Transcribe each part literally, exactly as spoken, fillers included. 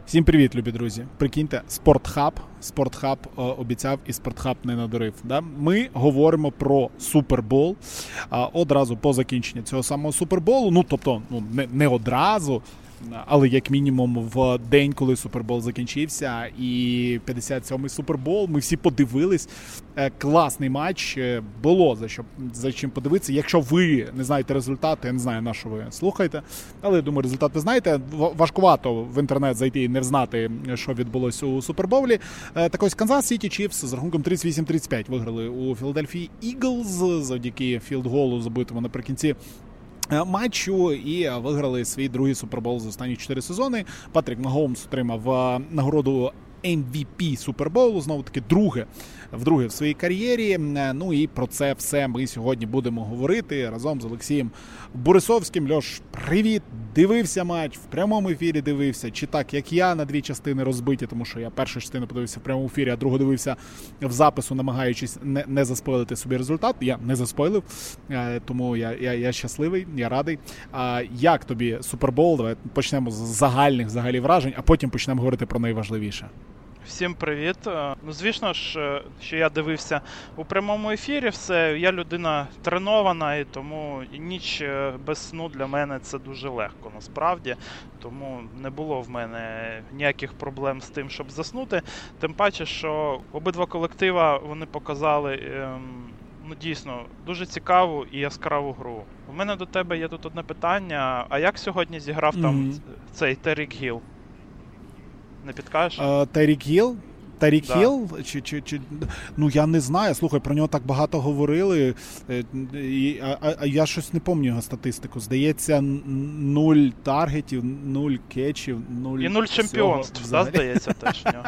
Всім привіт, любі друзі. Прикиньте, Спортхаб, Спортхаб е, обіцяв і Спортхаб не надурив. Да? Ми говоримо про Супербол е, одразу по закінченню цього самого Суперболу. Ну, тобто, ну, не, не одразу, але як мінімум в день, коли Супербол закінчився, і п'ятдесят сьомий Супербол, ми всі подивились. Е, класний матч, е, було за, що, за чим подивитися. Якщо ви не знаєте результати, я не знаю, на що ви слухаєте, але я думаю, результат ви знаєте. Важкувато в інтернет зайти і не знати, що відбулося у Суперболі. Е, так ось Канзас Сіті Чіфс з рахунком тридцять вісім тридцять п'ять виграли у Філадельфії Іглз завдяки філдголу, забитому наприкінці матчу, і виграли свій другий Супербол за останні чотири сезони. Патрік Магомс отримав нагороду ем ві пі Суперболу, знову-таки друге, вдруге в своїй кар'єрі. Ну і про це все ми сьогодні будемо говорити разом з Олексієм Борисовським. Льош, привіт! Дивився матч, в прямому ефірі дивився, чи так, як я, на дві частини розбиті, тому що я першу частину подивився в прямому ефірі, а другу дивився в запису, намагаючись не, не заспойлити собі результат. Я не заспойлив, тому я, я, я щасливий, я радий. А як тобі Супербол? Давай почнемо з загальних взагалі вражень, а потім почнемо говорити про найважливіше. Всім привіт. Ну, звісно ж, що я дивився у прямому ефірі все. Я людина тренована, і тому ніч без сну для мене це дуже легко, насправді. Тому не було в мене ніяких проблем з тим, щоб заснути. Тим паче, що обидва колектива, вони показали, ем, ну, дійсно, дуже цікаву і яскраву гру. У мене до тебе є тут одне питання. А як сьогодні зіграв mm-hmm. там цей Терік Гіл? Не підкажеш? Терік Гіл? Терік да. Гіл? Чи, чи, чи... Ну, я не знаю. Слухай, про нього так багато говорили. І, а, а я щось не пам'ятаю його статистику. Здається, нуль таргетів, нуль кетчів, нуль... І нуль чемпіонств, да, здається, теж в нього.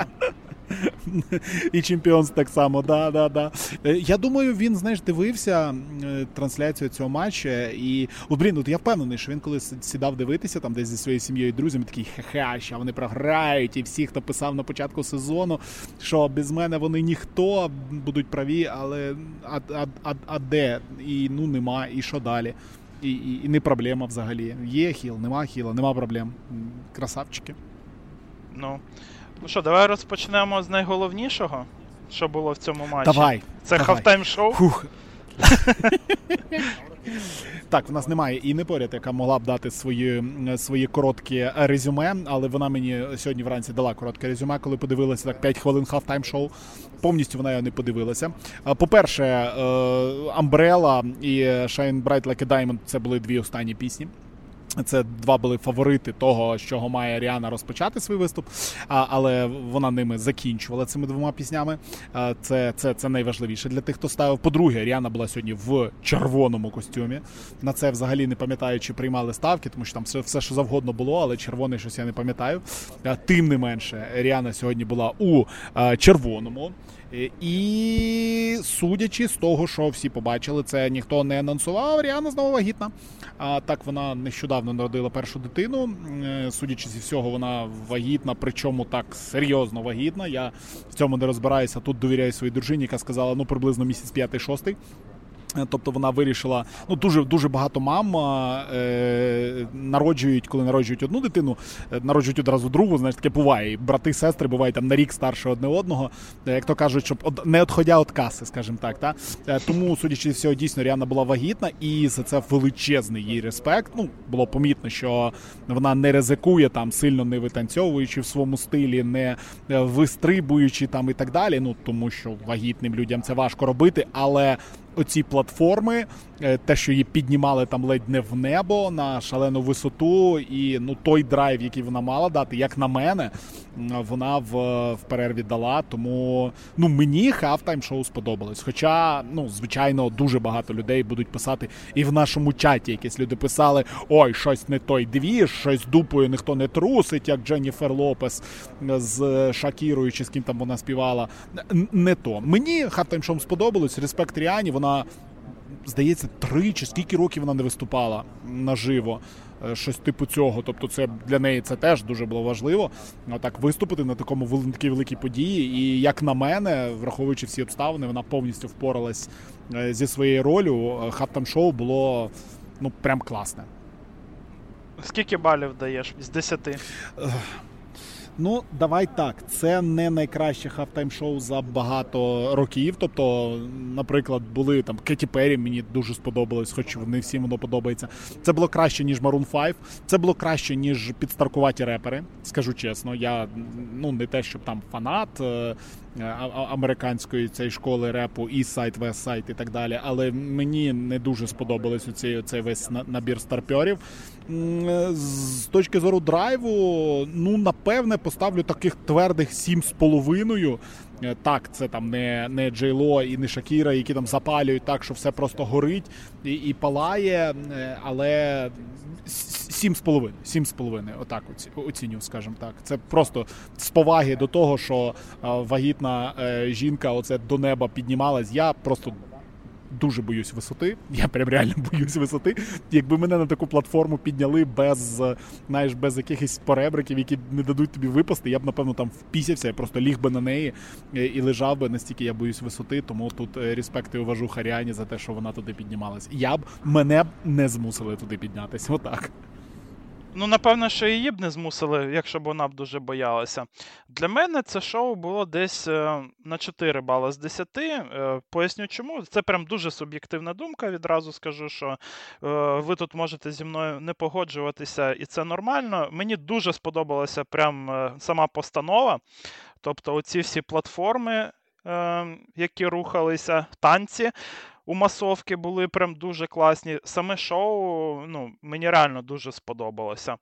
І чемпіонство так само, да, да, да. Я думаю, він, знаєш, дивився трансляцію цього матчу, і, от, блін, от я впевнений, що він коли сідав дивитися там десь зі своєю сім'єю і друзями, такий, ха-ха, що вони програють, і всі, хто писав на початку сезону, що без мене вони ніхто, будуть праві, але а, а, а, а де? І, ну, нема, і що далі? І, і, і не проблема взагалі. Є хіл, нема хіла, нема проблем. Красавчики. Ну, Ну що, давай розпочнемо з найголовнішого, що було в цьому матчі. Давай. Це хафтайм-шоу. Фух. Так, в нас немає Інни поряд, яка могла б дати свої, свої короткі резюме, але вона мені сьогодні вранці дала коротке резюме, коли подивилася так п'ять хвилин хафтайм-шоу. Повністю вона його не подивилася. По-перше, Umbrella і Shine Bright Like a Diamond – це були дві останні пісні. Це два були фаворити того, з чого має Ріана розпочати свій виступ, а, але вона ними закінчувала цими двома піснями. А, це, це, це найважливіше для тих, хто ставив. По-друге, Ріана була сьогодні в червоному костюмі. На це взагалі не пам'ятаю, чи приймали ставки, тому що там все, все що завгодно було, але червоний щось я не пам'ятаю. А, тим не менше, Ріана сьогодні була у а, червоному. І судячи з того, що всі побачили, це ніхто не анонсував, Ріана знову вагітна. А так вона нещодавно народила першу дитину. Судячи зі всього, вона вагітна, причому так серйозно вагітна. Я в цьому не розбираюся, тут довіряю своїй дружині, яка сказала, ну, приблизно місяць п'ятий-шостий. Тобто вона вирішила, ну, дуже, дуже багато мам е, народжують, коли народжують одну дитину, народжують одразу другу, знаєш, таке буває. І брати, сестри бувають там на рік старше одне одного, як то кажуть, щоб од, не відходя від каси, скажімо так. Та? Тому, судячи з всього, дійсно, Ріана була вагітна, і за це величезний їй респект. Ну, було помітно, що вона не ризикує там, сильно не витанцьовуючи в своєму стилі, не вистрибуючи там і так далі, ну, тому що вагітним людям це важко робити, але оці платформи, те, що її піднімали там ледь не в небо на шалену висоту, і, ну, той драйв, який вона мала дати, як на мене, вона в, в перерві дала, тому, ну, мені хафтайм-шоу сподобалось. Хоча, ну, звичайно, дуже багато людей будуть писати, і в нашому чаті якісь люди писали, ой, щось не той двіж, щось дупою ніхто не трусить, як Дженніфер Лопес з Шакірою, чи з ким там вона співала. Не то. Мені хафтайм-шоу сподобалось, респект Ріані, вона, здається, три чи скільки років вона не виступала наживо. Щось типу цього. Тобто це для неї це теж дуже було важливо. Так виступити на такому на такій великій події. І, як на мене, враховуючи всі обставини, вона повністю впоралась зі своєю ролью. Хафтайм-шоу було, ну, прям класне. Скільки балів даєш з десяти? Ну, давай так, це не найкраще хафтайм-шоу за багато років. Тобто, наприклад, були там Кеті Перрі, мені дуже сподобалось, хоч не всім воно подобається. Це було краще, ніж Maroon п'ять. Це було краще, ніж підстаркуваті репери, скажу чесно. Я, ну, не те, щоб там фанат е- американської цієї школи репу, East Side, West Side і так далі, але мені не дуже сподобалось оцей, цей весь набір старпьорів. З точки зору драйву, ну, напевне, поставлю таких твердих сім з половиною. Так, це там не, не Джей-Ло і не Шакіра, які там запалюють так, що все просто горить і, і палає, але сім з половиною, сім з половиною, отак оцінюю, скажімо так. Це просто з поваги до того, що вагітна жінка оце до неба піднімалась. Я просто дуже боюсь висоти, я прям реально боюсь висоти. Якби мене на таку платформу підняли без, знаєш, без якихось поребриків, які не дадуть тобі випасти, я б, напевно, там впісявся, я просто ліг би на неї і лежав би, настільки я боюсь висоти, тому тут респект і уважуха Ріані за те, що вона туди піднімалась. Я б, мене б не змусили туди піднятися, отак. Ну, напевно, що її б не змусили, якщо б вона б дуже боялася. Для мене це шоу було десь е, на чотири бали з десяти. Е, поясню чому. Це прям дуже суб'єктивна думка, відразу скажу, що е, ви тут можете зі мною не погоджуватися, і це нормально. Мені дуже сподобалася прям е, сама постанова. Тобто оці всі платформи, е, які рухалися, танці у масовки були прям дуже класні. Саме шоу, ну, мені реально дуже сподобалося.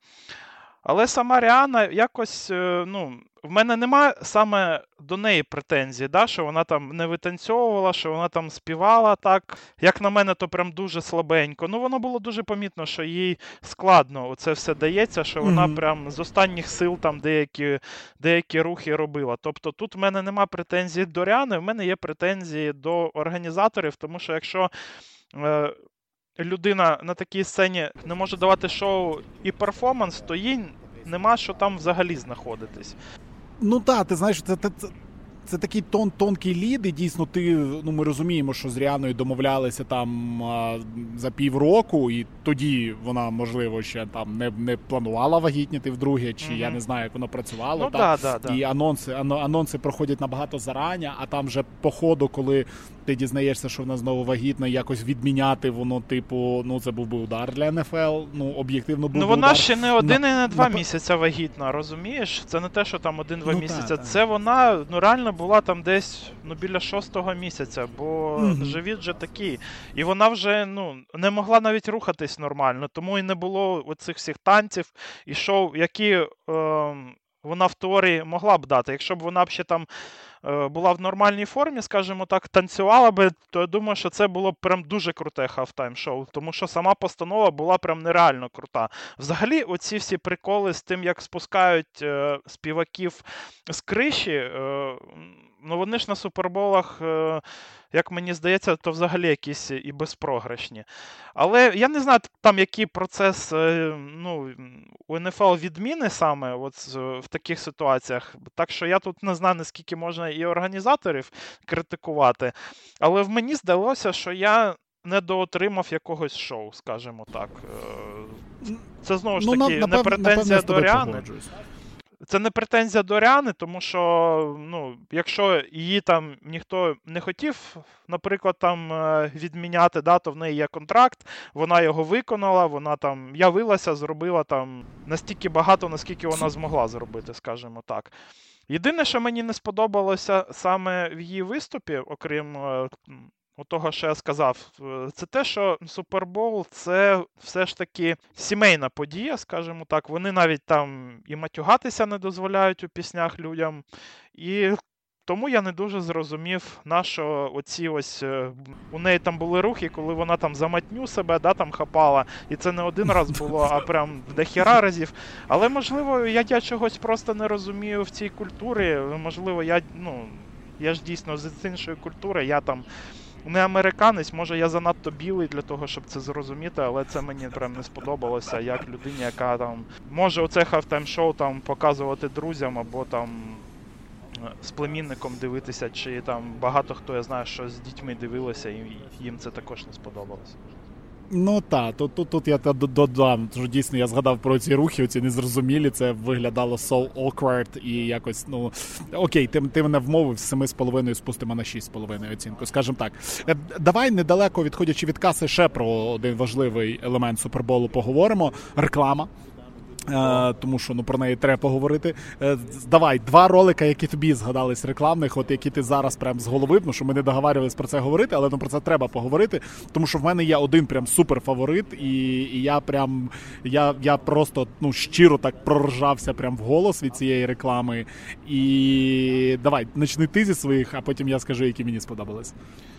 Але сама Ріана якось, ну, в мене немає саме до неї претензій, да, що вона там не витанцьовувала, що вона там співала так. Як на мене, то прям дуже слабенько. Ну, воно було дуже помітно, що їй складно це все дається, що вона mm-hmm. прям з останніх сил там деякі, деякі рухи робила. Тобто тут в мене немає претензій до Ріани, в мене є претензії до організаторів, тому що якщо Е, людина на такій сцені не може давати шоу і перформанс, то їй нема що там взагалі знаходитись. Ну так, ти знаєш, це, це, це такий тон, тонкий лід, і дійсно ти, ну, ми розуміємо, що з Ріаною домовлялися там а, за півроку, і тоді вона, можливо, ще там не, не планувала вагітніти вдруге, чи mm-hmm. я не знаю, як воно працювало. Ну, так? Да, да, і да. анонси, анонси проходять набагато зарані, а там вже по ходу, коли ти дізнаєшся, що вона знову вагітна, якось відміняти воно, типу, ну, це був би удар для ен еф ел, ну, об'єктивно був Ну, би вона удар. ще не один на, і не два на... місяця вагітна, розумієш? Це не те, що там один-два ну, місяця. Та, та. Це вона, ну, реально була там десь, ну, біля шостого місяця, бо mm-hmm. живіт вже такий. І вона вже, ну, не могла навіть рухатись нормально, тому і не було оцих всіх танців і шоу, які е, вона в теорії могла б дати. Якщо б вона б ще там була в нормальній формі, скажімо так, танцювала би, то я думаю, що це було б прям дуже круте хафтайм-шоу, тому що сама постанова була прям нереально крута. Взагалі, оці всі приколи з тим, як спускають е, співаків з криші, е, ну вони ж на суперболах, е, як мені здається, то взагалі якісь і безпрограшні. Але я не знаю, там який процес, е, ну, у ен еф ел відміни саме от в таких ситуаціях. Так що я тут не знаю, наскільки можна і організаторів критикувати. Але в мені здалося, що я недоотримав якогось шоу, скажімо так. Це знову ж таки, ну, не напев... претензія до Ріани. Це не претензія до Ріани, тому що, ну, якщо її там ніхто не хотів, наприклад, там відміняти, да, то в неї є контракт, вона його виконала, вона там явилася, зробила там настільки багато, наскільки вона змогла зробити, скажімо так. Єдине, що мені не сподобалося саме в її виступі, окрім у того, що я сказав, це те, що Супербол – це все ж таки сімейна подія, скажімо так. Вони навіть там і матюгатися не дозволяють у піснях людям. І тому я не дуже зрозумів, на що оці ось, у неї там були рухи, коли вона там за матню себе, да, там хапала. І це не один раз було, а прям дохіра разів. Але, можливо, я, я чогось просто не розумію в цій культурі. Можливо, я, ну, я ж дійсно з іншої культури, я там не американець, може я занадто білий для того, щоб це зрозуміти, але це мені прям не сподобалося, як людині, яка там може оце хафтайм-шоу там показувати друзям або там з племінником дивитися, чи там багато хто, я знаю, що з дітьми дивилося, і їм це також не сподобалося. Ну так, тут, тут, тут я додам, що дійсно я згадав про ці рухи, оці незрозумілі, це виглядало so awkward і якось, ну, окей, ти, ти мене вмовив, з семи з половиною спустимо на шість з половиною оцінку, скажімо так. Давай недалеко відходячи від каси ще про один важливий елемент Суперболу поговоримо, реклама. Е, тому що ну про неї треба поговорити. Е, давай, два ролика, які тобі згадались рекламних, от які ти зараз прям з голови, ну що ми не договарювалися про це говорити, але ну про це треба поговорити, тому що в мене є один прям супер фаворит, і, і я прям я, я просто ну щиро так проржався прям в голос від цієї реклами. І давай, почни ти зі своїх, а потім я скажу, які мені сподобались.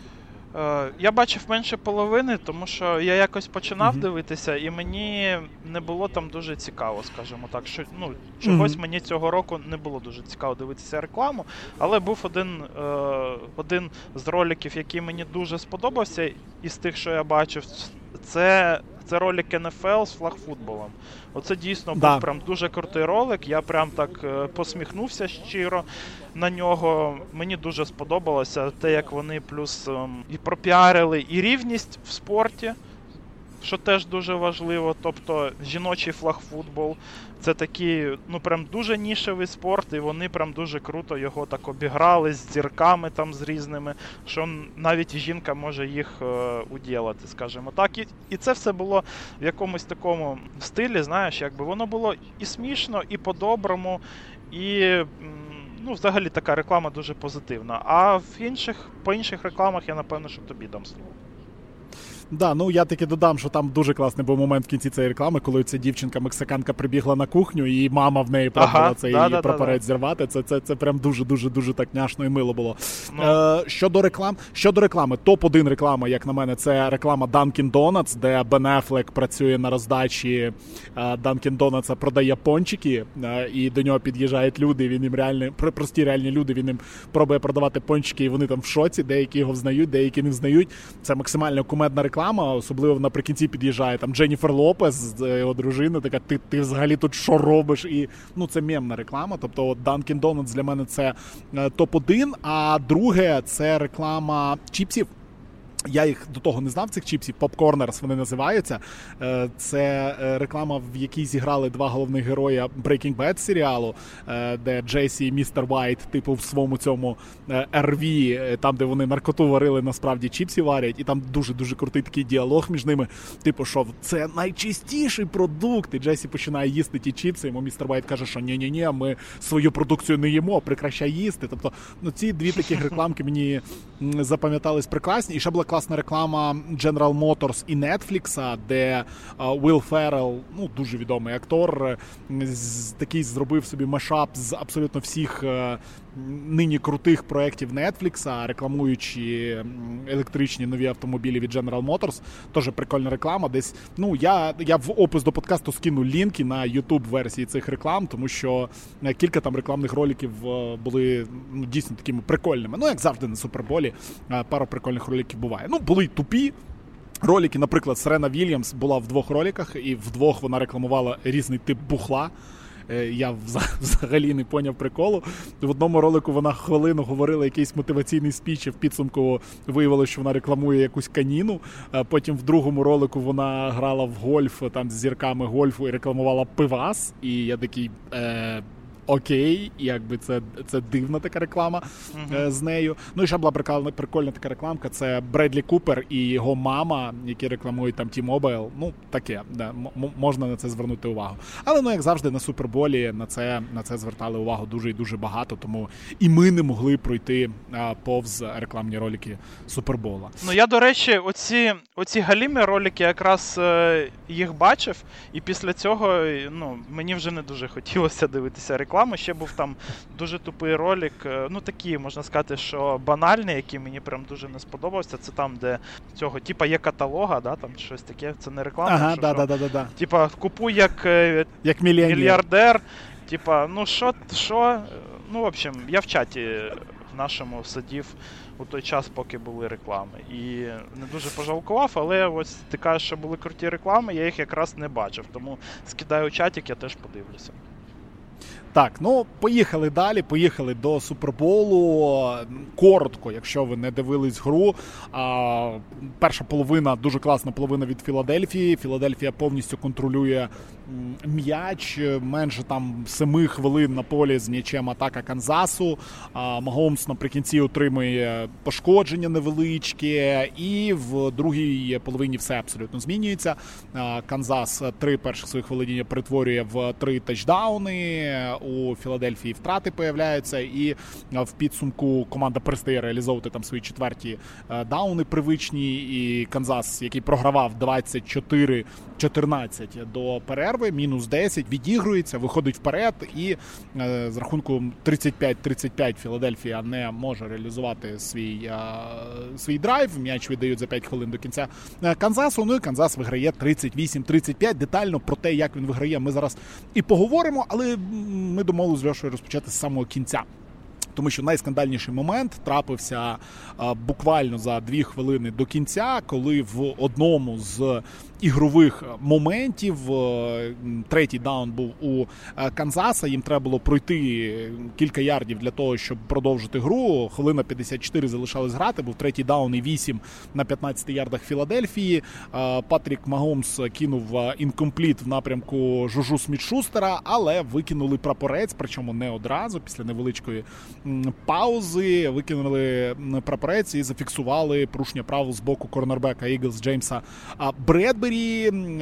Я бачив менше половини, тому що я якось починав uh-huh. дивитися, і мені не було там дуже цікаво, скажімо так. Що, ну, чогось uh-huh. мені цього року не було дуже цікаво дивитися рекламу, але був один, е, один з роликів, який мені дуже сподобався, із тих, що я бачив, це, це ролик ен еф ел з флагфутболом. Оце дійсно да. був прям дуже крутий ролик, я прям так е, посміхнувся щиро на нього. Мені дуже сподобалося те, як вони плюс ем, і пропіарили і рівність в спорті, що теж дуже важливо. Тобто жіночий флагфутбол – це такий, ну прям дуже нішевий спорт, і вони прям дуже круто його так обіграли з зірками там з різними, що навіть жінка може їх е, уділати, скажімо так. І, і це все було в якомусь такому стилі, знаєш, якби воно було і смішно, і по-доброму, і ну, взагалі така реклама дуже позитивна. А в інших, по інших рекламах я, напевно, що тобі дам слово. Да, ну я таки додам, що там дуже класний був момент в кінці цієї реклами, коли ця дівчинка-мексиканка прибігла на кухню, і мама в неї пробувала ага, цей да, да, прапорець да, зірвати. Це, це, це прям дуже-дуже-дуже так няшно і мило було. Ну. Е, щодо реклам, щодо реклами, топ один реклама, як на мене, це реклама Dunkin' Donuts, де Бен Аффлек працює на роздачі е, Dunkin' Donuts, продає пончики, е, і до нього під'їжджають люди, він їм реальні, прості реальні люди, він їм пробує продавати пончики, і вони там в шоці, деякі його взнають, деякі не взнають. Це максимально кумедна реклама. Особливо наприкінці під'їжджає там Дженніфер Лопес, його дружина, така, ти, ти взагалі тут що робиш? І, ну, це мемна реклама, тобто от Dunkin' Donuts для мене це е, топ один, а друге це реклама чіпсів. Я їх до того не знав, цих чіпсів, Popcorners вони називаються. Це реклама, в якій зіграли два головних героя Breaking Bad серіалу, де Джесі і містер Вайт, типу, в своєму цьому ар ві, там, де вони наркоту варили, насправді чіпсі варять, і там дуже-дуже крутий такий діалог між ними, типу, що це найчистіший продукт, і Джесі починає їсти ті чіпси, йому містер Вайт каже, що ні-ні-ні, ми свою продукцію не їмо, прекращай їсти. Тобто, ну, ці дві такі рекламки мені запам'ятались прекрасні. І ще була класна реклама General Motors і Netflix, де Уилл Феррелл, ну, дуже відомий актор, з, такий зробив собі мешап з абсолютно всіх нині крутих проєктів Netflix, рекламуючи електричні нові автомобілі від General Motors. Теж прикольна реклама. Десь, ну, я, я в опис до подкасту скину лінки на YouTube-версії цих реклам, тому що кілька там рекламних роликів були, ну, дійсно такими прикольними. Ну, як завжди на Суперболі, пару прикольних роликів буває. Ну, були й тупі ролики, наприклад, Серена Вільямс була в двох роликах, і в двох вона рекламувала різний тип бухла. Я взагалі не поняв приколу. В одному ролику вона хвилину говорила якийсь мотиваційний спіч, і в підсумку виявилося, що вона рекламує якусь каніну. Потім в другому ролику вона грала в гольф, там з зірками гольфу, і рекламувала пивас. І я такий... Е- Окей, якби це, це дивна така реклама uh-huh. е, з нею. Ну і ще була прикольна, прикольна така рекламка, це Бредлі Купер і його мама, які рекламують там T-Mobile. Ну, таке, да, м- можна на це звернути увагу. Але, ну, як завжди, на Суперболі на це, на це звертали увагу дуже і дуже багато, тому і ми не могли пройти а, повз рекламні ролики Супербола. Ну, я, до речі, оці, оці галімі ролики якраз е, їх бачив, і після цього, ну, мені вже не дуже хотілося дивитися рекламу. Ще був там дуже тупий ролик, ну такий, можна сказати, що банальний, який мені прям дуже не сподобався. Це там, де цього, типа, є каталога, да, там щось таке, це не реклама. Ага, що, да, що, да, да, да, да. Типа, купуй як, як мільярдер. мільярдер. Типа, ну що, що, ну, в общем, я в чаті нашому сидів у той час, поки були реклами. І не дуже пожалкував, але ось ти кажеш, що були круті реклами, я їх якраз не бачив. Тому скидаю чатик, я теж подивлюся. Так, ну, поїхали далі, поїхали до Суперболу. Коротко, якщо ви не дивились гру. А, перша половина, дуже класна половина від Філадельфії. Філадельфія повністю контролює м'яч. Менше там семи хвилин на полі з м'ячем атака Канзасу. А, Магомс наприкінці отримує пошкодження невеличке. І в другій половині все абсолютно змінюється. А, Канзас три перших своїх володіння перетворює в три тачдауни. У Філадельфії втрати появляються, і в підсумку команда перестає реалізовувати там свої четверті дауни привичні, і Канзас, який програвав двадцять чотири чотирнадцять до перерви, мінус десять, відігрується, виходить вперед, і з рахунку тридцять п'ять тридцять п'ять Філадельфія не може реалізувати свій, свій драйв, м'яч віддають за п'ять хвилин до кінця Канзасу, ну і Канзас виграє тридцять вісім тридцять п'ять. Детально про те, як він виграє, ми зараз і поговоримо, але ми домовилися з Льошею розпочати з самого кінця. Тому що найскандальніший момент трапився а, буквально за дві хвилини до кінця, коли в одному з ігрових моментів а, третій даун був у а, Канзаса. Їм треба було пройти кілька ярдів для того, щоб продовжити гру. Хвилина п'ятдесят чотири залишалось грати, був третій даун і вісім на п'ятнадцяти ярдах Філадельфії. А, Патрік Магомс кинув інкомпліт в напрямку Жужу Сміт-Шустера, але викинули прапорець, причому не одразу, після невеличкої паузи, викинули прапорець і зафіксували порушення правил з боку корнербека Eagles Джеймса Бредбері,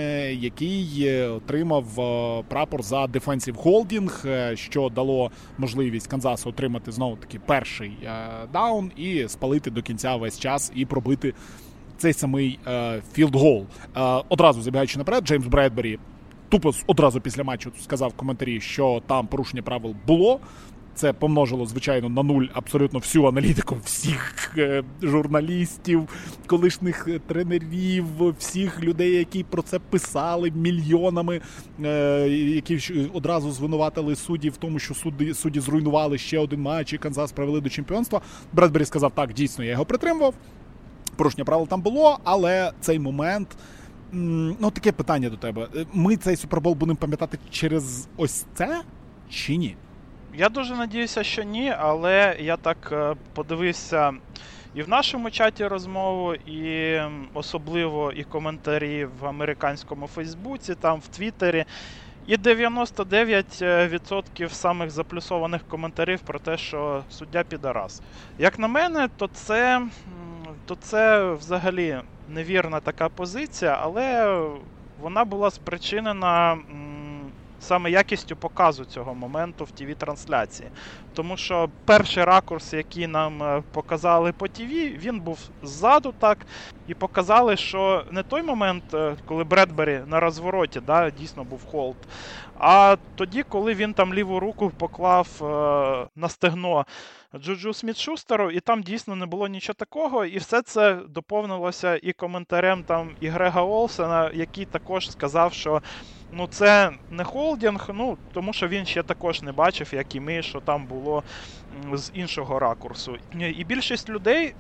який отримав прапор за defensive holding, що дало можливість Канзасу отримати знову-таки перший даун і спалити до кінця весь час і пробити цей самий філд-гол. Одразу забігаючи наперед, Джеймс Бредбері тупо одразу після матчу сказав в коментарі, що там порушення правил було. Це помножило, звичайно, на нуль абсолютно всю аналітику всіх е, журналістів, колишніх тренерів, всіх людей, які про це писали мільйонами, е, які одразу звинуватили суддів в тому, що судді, судді зруйнували ще один матч і Канзас привели до чемпіонства. Бредбері сказав, так, дійсно, я його притримував, порушення правил там було, але цей момент... Ну, таке питання до тебе. Ми цей Супербол будемо пам'ятати через ось це чи ні? Я дуже надіюся, що ні, але я так подивився і в нашому чаті розмову, і особливо і коментарі в американському Фейсбуці, там в Твіттері. І дев'яносто дев'ять відсотків самих заплюсованих коментарів про те, що суддя підарас. Як на мене, то це, то це взагалі невірна така позиція, але вона була спричинена саме якістю показу цього моменту в ті ві-трансляції. Тому що перший ракурс, який нам показали по ті ві, він був ззаду так, і показали, що не той момент, коли Бредбері на розвороті, да, дійсно був холд, а тоді, коли він там ліву руку поклав е, на стегно Джуджу Сміт-Шустеру, і там дійсно не було нічого такого, і все це доповнилося і коментарем там і Грега Олсена, який також сказав, що ну це не холдинг, ну тому що він ще також не бачив, як і ми, що там було з іншого ракурсу. І більшість людей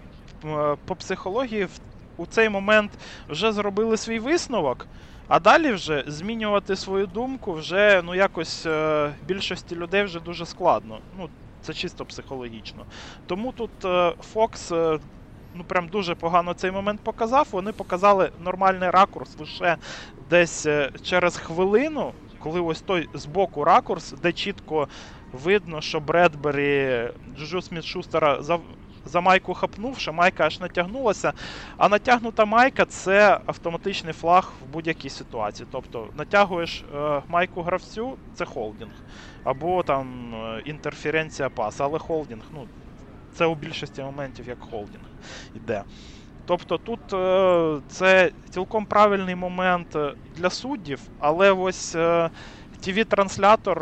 по психології у цей момент вже зробили свій висновок, а далі вже змінювати свою думку вже, ну, якось е, більшості людей вже дуже складно. Ну, це чисто психологічно. Тому тут е, Fox, е, ну, прям дуже погано цей момент показав. Вони показали нормальний ракурс лише десь е, через хвилину, коли ось той збоку ракурс, де чітко видно, що Бредбері Джуджу Сміт-Шустера за... за майку хапнув, що майка аж натягнулася, а натягнута майка – це автоматичний флаг в будь-якій ситуації. Тобто натягуєш е, майку гравцю – це холдинг, або там е, інтерференція паса, але холдинг, ну, це у більшості моментів як холдинг іде. Тобто тут е, це цілком правильний момент для суддів, але ось е, ті ві-транслятор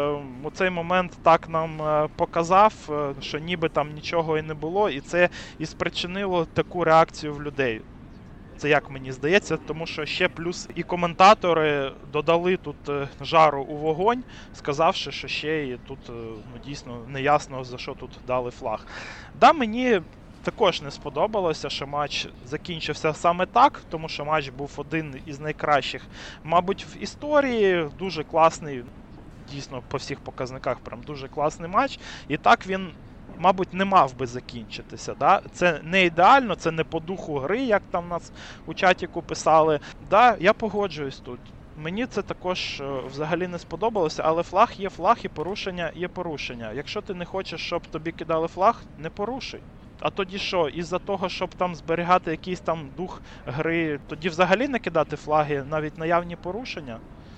у цей момент так нам показав, що ніби там нічого і не було, і це і спричинило таку реакцію в людей. Це як мені здається, тому що ще плюс і коментатори додали тут жару у вогонь, сказавши, що ще і тут ну, дійсно неясно, за що тут дали флаг. Да, мені також не сподобалося, що матч закінчився саме так, тому що матч був один із найкращих, мабуть, в історії, дуже класний, дійсно по всіх показниках прям дуже класний матч. І так він, мабуть, не мав би закінчитися. Да? Це не ідеально, це не по духу гри, як там нас у чатіку писали. Да, я погоджуюсь тут. Мені це також е, взагалі не сподобалося, але флаг є флаг і порушення є порушення. Якщо ти не хочеш, щоб тобі кидали флаг, не порушуй. А тоді що, із-за того, щоб там зберігати якийсь там дух гри, тоді взагалі не кидати флаги, навіть наявні порушення?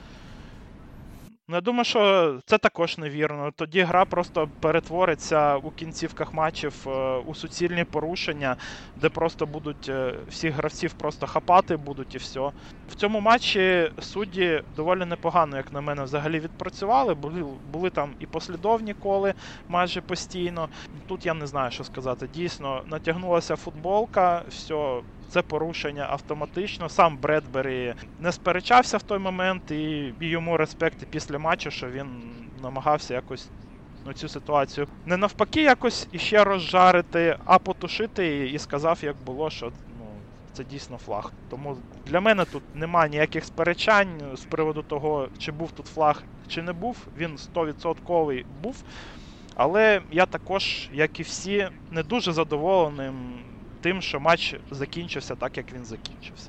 Ну, я думаю, що це також невірно. Тоді гра просто перетвориться у кінцівках матчів е, у суцільні порушення, де просто будуть е, всіх гравців просто хапати будуть і все. В цьому матчі судді доволі непогано, як на мене, взагалі відпрацювали. Були, були там і послідовні коли майже постійно. Тут я не знаю, що сказати. Дійсно, натягнулася футболка, все... Це порушення автоматично. Сам Бредбері не сперечався в той момент, і йому респект і після матчу, що він намагався якось ну, цю ситуацію не навпаки якось іще розжарити, а потушити її і сказав, як було, що ну, це дійсно флаг. Тому для мене тут немає ніяких сперечань з приводу того, чи був тут флаг, чи не був. Він сто відсотків був. Але я також, як і всі, не дуже задоволений тим, що матч закінчився так, як він закінчився.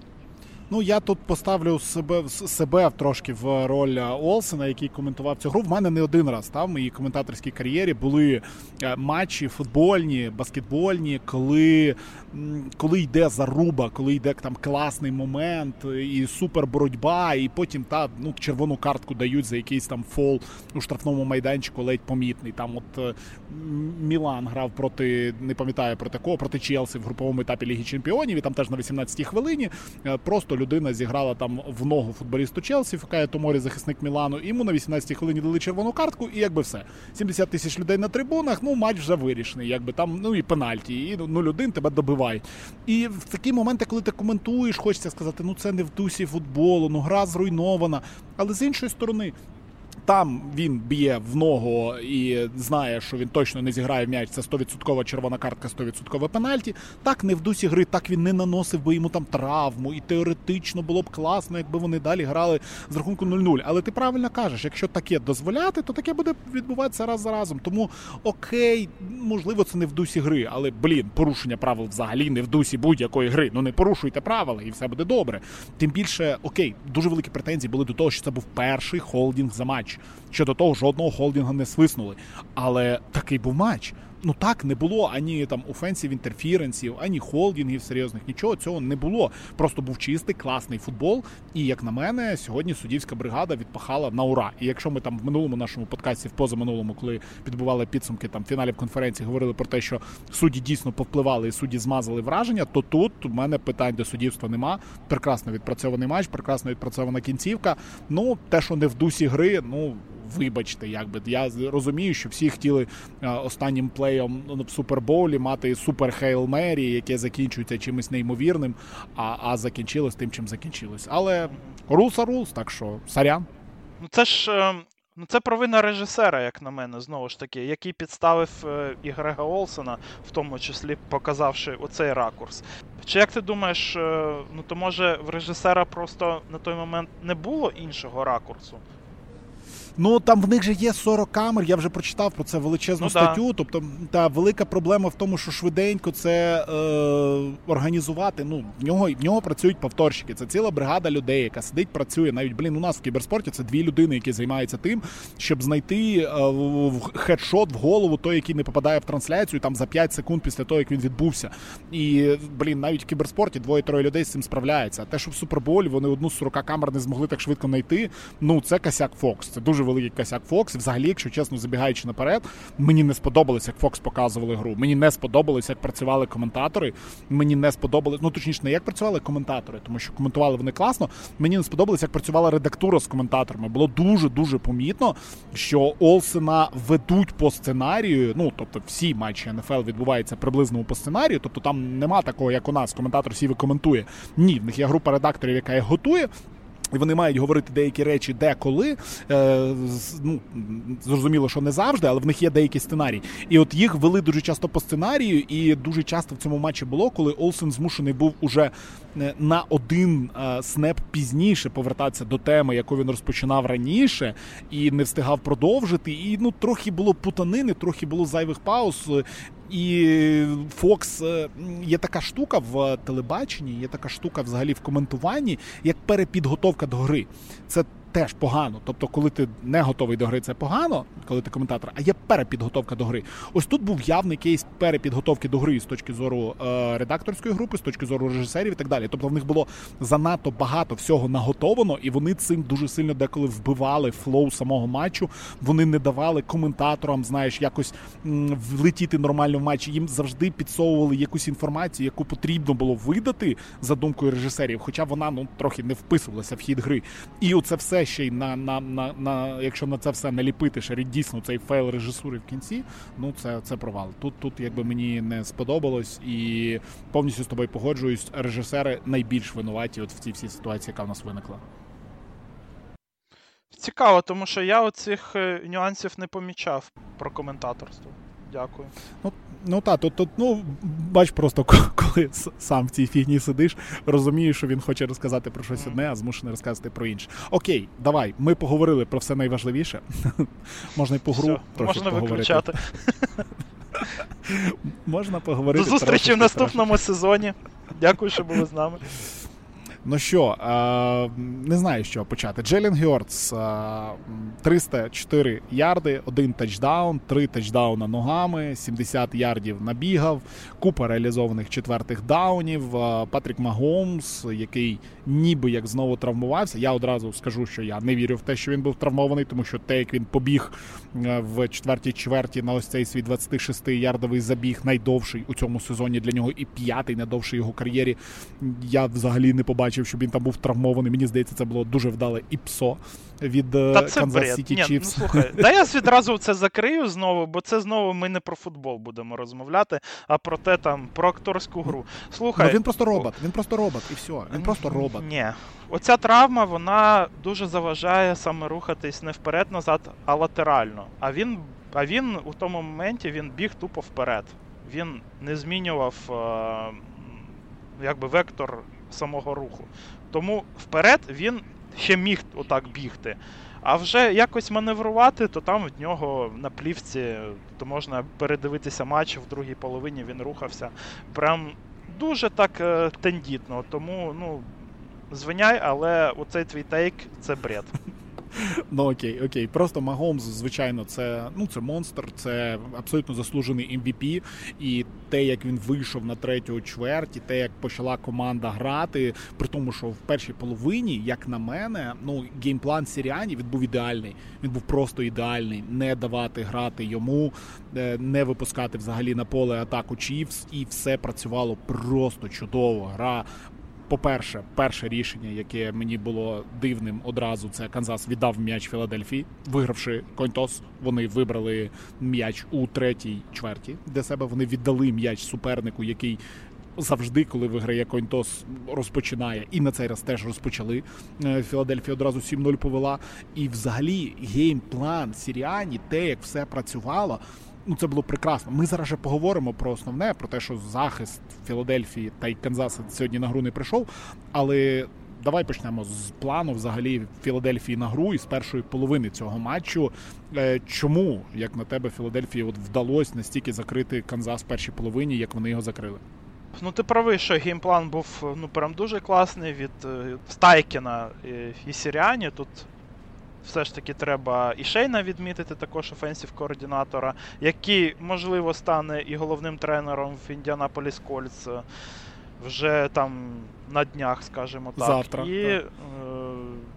Ну, я тут поставлю себе, себе трошки в роль Олсена, який коментував цю гру. В мене не один раз та, в моїй коментаторській кар'єрі були матчі футбольні, баскетбольні, коли, коли йде заруба, коли йде там класний момент і супер боротьба, і потім та, ну, червону картку дають за якийсь там фол у штрафному майданчику ледь помітний. Там от Мілан грав проти, не пам'ятаю проти кого, проти Челсі в груповому етапі Ліги Чемпіонів, і там теж на вісімнадцятій хвилині просто людина зіграла там в ногу футболісту Челсі, Фікає Томорі, захисник Мілану, і йому на вісімнадцятій хвилині дали червону картку, і якби все. сімдесят тисяч людей на трибунах, ну, матч вже вирішений, якби там, ну, і пенальті, і нуль один тебе добивають. І в такі моменти, коли ти коментуєш, хочеться сказати, ну, це не в дусі футболу, ну, гра зруйнована. Але з іншої сторони, там він б'є в ногу і знає, що він точно не зіграє в м'яч, це сто відсотків червона картка, сто відсотків пенальті. Так не в дусі гри, так він не наносив би йому там травму, і теоретично було б класно, якби вони далі грали з рахунку нуль нуль. Але ти правильно кажеш, якщо таке дозволяти, то таке буде відбуватися раз за разом. Тому окей, можливо, це не в дусі гри, але, блін, порушення правил взагалі не в дусі будь-якої гри. Ну не порушуйте правила і все буде добре. Тим більше, окей, дуже великі претензії були до того, що це був перший холдинг за матч. Щодо того, жодного холдингу не свиснули. Але такий був матч. Ну так, не було ані там офенсів інтерференсів, ані холдингів серйозних, нічого цього не було. Просто був чистий, класний футбол. І, як на мене, сьогодні суддівська бригада відпахала на ура. І якщо ми там в минулому нашому подкасті, в позаминулому, коли підбивали підсумки там фіналів конференції, говорили про те, що судді дійсно повпливали і судді змазали враження, то тут у мене питань до суддівства нема. Прекрасно відпрацьований матч, прекрасно відпрацьована кінцівка. Ну, те, що не в дусі гри, ну, вибачте, якби. Я розумію, що всі хотіли а, останнім плеєм в Супербоулі мати супер Хейл Мері, яке закінчується чимось неймовірним, а, а закінчилось тим, чим закінчилось. Але rules are rules, так що сорян. Ну це ж ну це провина режисера, як на мене, знову ж таки, який підставив е, і Грега Олсена, в тому числі показавши оцей ракурс. Чи як ти думаєш, е, ну то може в режисера просто на той момент не було іншого ракурсу? Ну, там в них же є сорок камер, я вже прочитав про це величезну ну, статтю, да. Тобто та велика проблема в тому, що швиденько це е, організувати, ну, в нього, в нього працюють повторщики, це ціла бригада людей, яка сидить, працює, навіть, блін, у нас в кіберспорті це дві людини, які займаються тим, щоб знайти е, хедшот в голову той, який не попадає в трансляцію, там за п'ять секунд після того, як він відбувся. І, блін, навіть в кіберспорті двоє-троє людей з цим справляються. А те, що в Суперболі вони одну з сорока камер не змогли так швидко знайти, ну, це косяк Fox, це дуже великий косяк Fox. Взагалі, якщо чесно, забігаючи наперед, мені не сподобалось, як Fox показували гру. Мені не сподобалось, як працювали коментатори. Мені не сподобалось, ну точніше, не як працювали коментатори, тому що коментували вони класно. Мені не сподобалось, як працювала редактура з коментаторами. Було дуже-дуже помітно, що Олсена ведуть по сценарію, ну, тобто всі матчі ен еф ел відбуваються приблизно по сценарію, тобто там нема такого, як у нас, коментатор сів і коментує. Ні, в них є група редакторів, яка їх готує. І вони мають говорити деякі речі де-коли, е, ну, зрозуміло, що не завжди, але в них є деякі сценарії. І от їх вели дуже часто по сценарію, і дуже часто в цьому матчі було, коли Олсен змушений був уже на один е, снеп пізніше повертатися до теми, яку він розпочинав раніше, і не встигав продовжити. І ну, трохи було путанини, трохи було зайвих пауз. І Fox, є така штука в телебаченні, є така штука взагалі в коментуванні, як перепідготовка до гри. Це теж погано. Тобто, коли ти не готовий до гри, це погано, коли ти коментатор, а є перепідготовка до гри. Ось тут був явний кейс перепідготовки до гри з точки зору е, редакторської групи, з точки зору режисерів і так далі. Тобто в них було занадто багато всього наготовано, і вони цим дуже сильно деколи вбивали флоу самого матчу. Вони не давали коментаторам, знаєш, якось м, влетіти нормально в матч. Їм завжди підсовували якусь інформацію, яку потрібно було видати за думкою режисерів, хоча вона ну трохи не вписувалася в хід гри. І оце все ще й на, на, на, на якщо на це все наліпити ще дійсно цей фейл режисури в кінці, ну це, це провал. Тут, тут якби мені не сподобалось, і повністю з тобою погоджуюсь, режисери найбільш винуваті от в цій всій ситуації, яка в нас виникла. Цікаво, тому що я оцих нюансів не помічав про коментаторство. Дякую. Ну, ну так, тут, тут, ну, бач, просто коли сам в цій фігні сидиш, розумієш, що він хоче розказати про щось одне, а змушений розказати про інше. Окей, давай, ми поговорили про все найважливіше. Можна й по гру все, трохи можна поговорити. Виключати. Можна поговорити. До зустрічі в наступному трошки. сезоні. Дякую, що були з нами. Ну що, не знаю, з чого почати. Джейлен Гьортс, триста чотири ярди, один тачдаун, три тачдауна ногами, сімдесят ярдів набігав, купа реалізованих четвертих даунів. Патрік Магомс, який ніби як знову травмувався. Я одразу скажу, що я не вірю в те, що він був травмований, тому що те, як він побіг в четвертій чверті на ось цей свій двадцятишестиярдовий забіг, найдовший у цьому сезоні для нього і п'ятий найдовший його кар'єрі, я взагалі не побачив, щоб він там був травмований. Мені здається, це було дуже вдале іпсо від Канзас Сіті Чіфс. Ну, слухай, да я відразу це закрию знову, бо це знову ми не про футбол будемо розмовляти, а про те там, про акторську гру. Слухай. Ну, він просто робот, він просто робот і все, він просто робот. Ні. Оця травма, вона дуже заважає саме рухатись не вперед-назад, а латерально. А він, а він у тому моменті він біг тупо вперед. Він не змінював е, якби вектор самого руху. Тому вперед він ще міг отак бігти. А вже якось маневрувати, то там в нього на плівці, то можна передивитися матч в другій половині, він рухався прям дуже так е, тендітно. Тому, ну, звиняй, але оцей твій тейк – це бред. Ну окей, окей. Просто Магомс, звичайно, це, ну, це монстр, це абсолютно заслужений ем ві пі. І те, як він вийшов на третю чверть, те, як почала команда грати, при тому, що в першій половині, як на мене, ну, геймплан Сіріані, він був ідеальний. Він був просто ідеальний. Не давати грати йому, не випускати взагалі на поле атаку Чіфс, і все працювало просто чудово. Гра. По-перше, перше рішення, яке мені було дивним одразу, це Канзас віддав м'яч Філадельфії, вигравши контос. Вони вибрали м'яч у третій чверті, де себе вони віддали м'яч супернику, який завжди, коли виграє контос, розпочинає. І на цей раз теж розпочали. Філадельфія одразу сім нуль повела. І взагалі геймплан Сіріані, те, як все працювало, ну, це було прекрасно. Ми зараз вже поговоримо про основне, про те, що захист Філадельфії та й Канзаса сьогодні на гру не прийшов, але давай почнемо з плану взагалі Філадельфії на гру і з першої половини цього матчу. Чому, як на тебе, Філадельфії от вдалося настільки закрити Канзас в першій половині, як вони його закрили? Ну, ти правий, що геймплан був, ну, прям дуже класний від Стайкена і Сіріані. Тут все ж таки треба і Шейна відмітити, також офенсів-координатора, який, можливо, стане і головним тренером в Індіанаполіс Кольтс вже там на днях, скажімо так. Завтра. І е,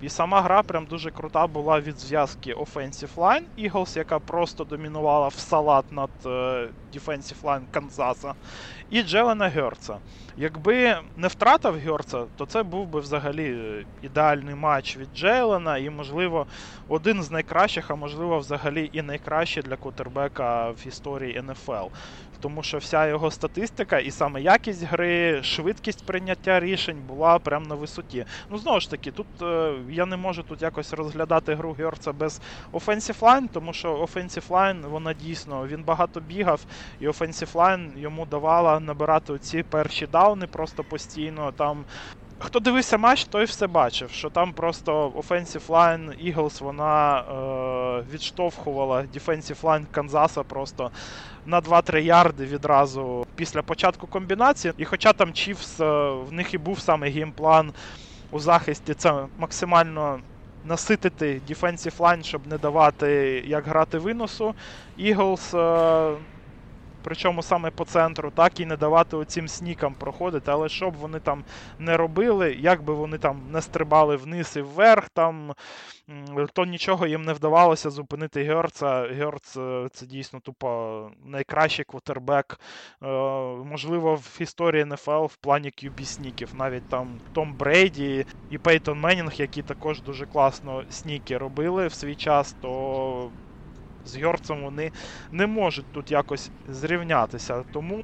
І сама гра прям дуже крута була від зв'язки Offensive Line Eagles, яка просто домінувала в салат над е, Defensive Line Канзаса, і Джелена Гьорца. Якби не втратив Гьорца, то це був би взагалі ідеальний матч від Джейлена і, можливо, один з найкращих, а можливо, взагалі і найкращий для квотербека в історії ен еф ел. Тому що вся його статистика і саме якість гри, швидкість прийняття рішень була прямо на висоті. Ну, знову ж таки, тут е, я не можу тут якось розглядати гру Гьорца без Offensive Line, тому що Offensive Line, вона дійсно, він багато бігав, і Offensive Line йому давала набирати ці перші дауни просто постійно. Там хто дивився матч, той все бачив, що там просто Offensive Line Eagles, вона е, відштовхувала Defensive Line Канзаса просто на два-три ярди відразу після початку комбінації. І хоча там Chiefs, е, в них і був саме геймплан у захисті, це максимально наситити Defensive Line, щоб не давати як грати виносу. Eagles, е, причому саме по центру, так і не давати оцім снікам проходити, але що б вони там не робили, як би вони там не стрибали вниз і вверх, там, то нічого їм не вдавалося зупинити Гьорца. Гьорц – це дійсно тупо найкращий квотербек, можливо, в історії ен еф ел в плані к'ю бі-сніків. Навіть там Том Брейді і Пейтон Меннінг, які також дуже класно сніки робили в свій час, то з Гьорцем вони не можуть тут якось зрівнятися. Тому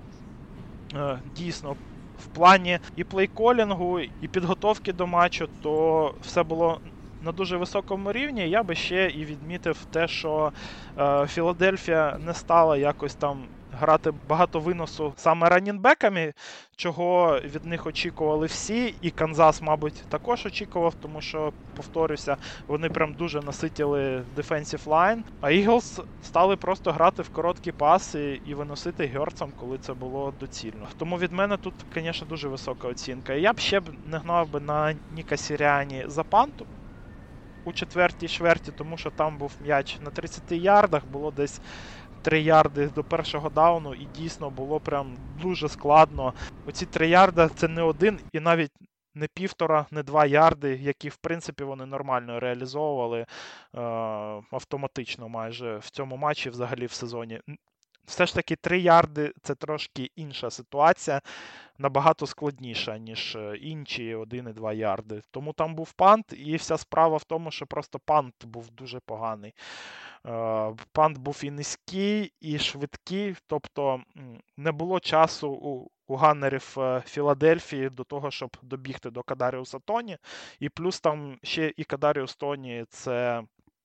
е, дійсно в плані і плейколінгу, і підготовки до матчу, то все було на дуже високому рівні. Я би ще і відмітив те, що е, Філадельфія не стала якось там грати багато виносу саме раннінбеками, чого від них очікували всі, і Канзас, мабуть, також очікував, тому що, повторюся, вони прям дуже наситили defensive line, а Eagles стали просто грати в короткі паси і виносити Гьорцем, коли це було доцільно. Тому від мене тут, звісно, дуже висока оцінка. І я б ще б не гнав би на Ніка Сіріані за панту у четвертій чверті, тому що там був м'яч на тридцяти ярдах, було десь три ярди до першого дауну, і дійсно було прям дуже складно. Оці три ярди – це не один і навіть не півтора, не два ярди, які, в принципі, вони нормально реалізовували е- автоматично майже в цьому матчі, взагалі в сезоні. Все ж таки три ярди – це трошки інша ситуація, набагато складніша, ніж інші один і два ярди. Тому там був пант, і вся справа в тому, що просто пант був дуже поганий. Пант був і низький, і швидкий, тобто не було часу у, у ганнерів Філадельфії до того, щоб добігти до Кадаріуса Тоні. І плюс там ще і Кадаріус Тоні – це...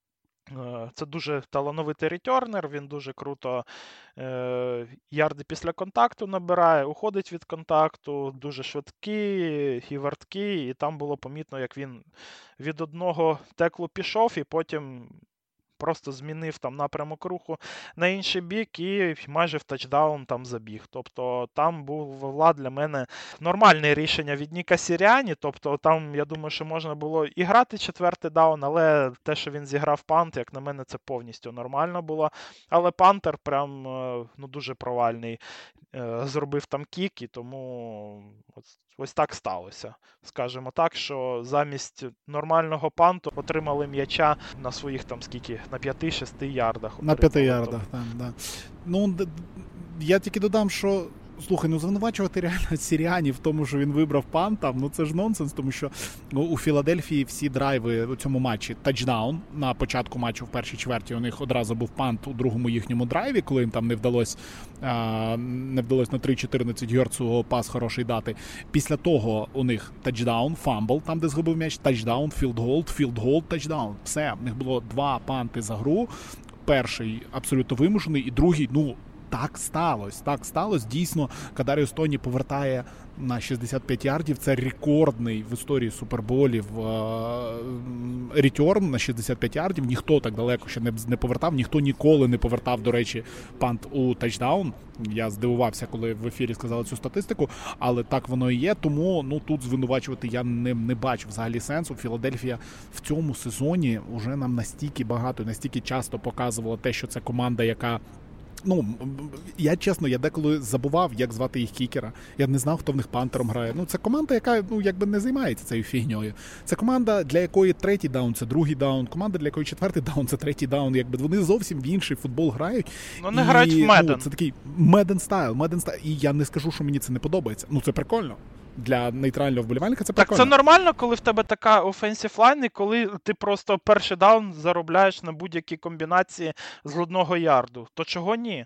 Це дуже талановитий ретернер, він дуже круто е, ярди після контакту набирає, уходить від контакту, дуже швидкий і верткий, і там було помітно, як він від одного теклу пішов і потім просто змінив там напрямок руху на інший бік і майже в тачдаун там забіг. Тобто там був влад для мене нормальне рішення від Ніка Сіріані. Тобто там, я думаю, що можна було і грати четвертий даун, але те, що він зіграв пант, як на мене, це повністю нормально було. Але пантер прям ну, дуже провальний. Зробив там кік, і тому ось, ось так сталося. Скажімо так, що замість нормального панту отримали м'яча на своїх там скільки, на п'яти-шести ярдах. На п'яти ярдах, так, да. Ну, я тільки додам, що слухай, ну звинувачувати реально Сіріані в тому, що він вибрав пант, там, ну це ж нонсенс, тому що ну, у Філадельфії всі драйви у цьому матчі тачдаун. На початку матчу в першій чверті у них одразу був пант у другому їхньому драйві, коли їм там не вдалося а, не вдалося на три чотирнадцять Гьорцу пас хороший дати. Після того у них тачдаун, фамбл, там де згубив м'яч, тачдаун, філдголд, філдголд, тачдаун. Все, у них було два панти за гру. Перший абсолютно вимушений і другий, ну, так сталося, так сталося. Дійсно, Кадаріус Тоні повертає на шістдесят п'ять ярдів. Це рекордний в історії суперболів ретерн на шістдесят п'ять ярдів. Ніхто так далеко ще не, не повертав, ніхто ніколи не повертав, до речі, пант у тачдаун. Я здивувався, коли в ефірі сказали цю статистику, але так воно і є. Тому ну, тут звинувачувати я не, не бачу взагалі сенсу. Філадельфія в цьому сезоні вже нам настільки багато, настільки часто показувала те, що це команда, яка ну, я чесно, я деколи забував, як звати їх кікера. Я не знав, хто в них пантером грає. Ну, це команда, яка, ну, якби не займається цією фігньою. Це команда, для якої третій даун – це другий даун. Команда, для якої четвертий даун – це третій даун. Якби вони зовсім в інший футбол грають. Вони і, грають в Меден. Ну, це такий Меден стайл, Меден стайл. І я не скажу, що мені це не подобається. Ну, це прикольно. Для нейтрального вболівальника це прикольно. Так це нормально, коли в тебе така офенсів лайн, і коли ти просто перший даун заробляєш на будь-які комбінації з одного ярду. То чого ні?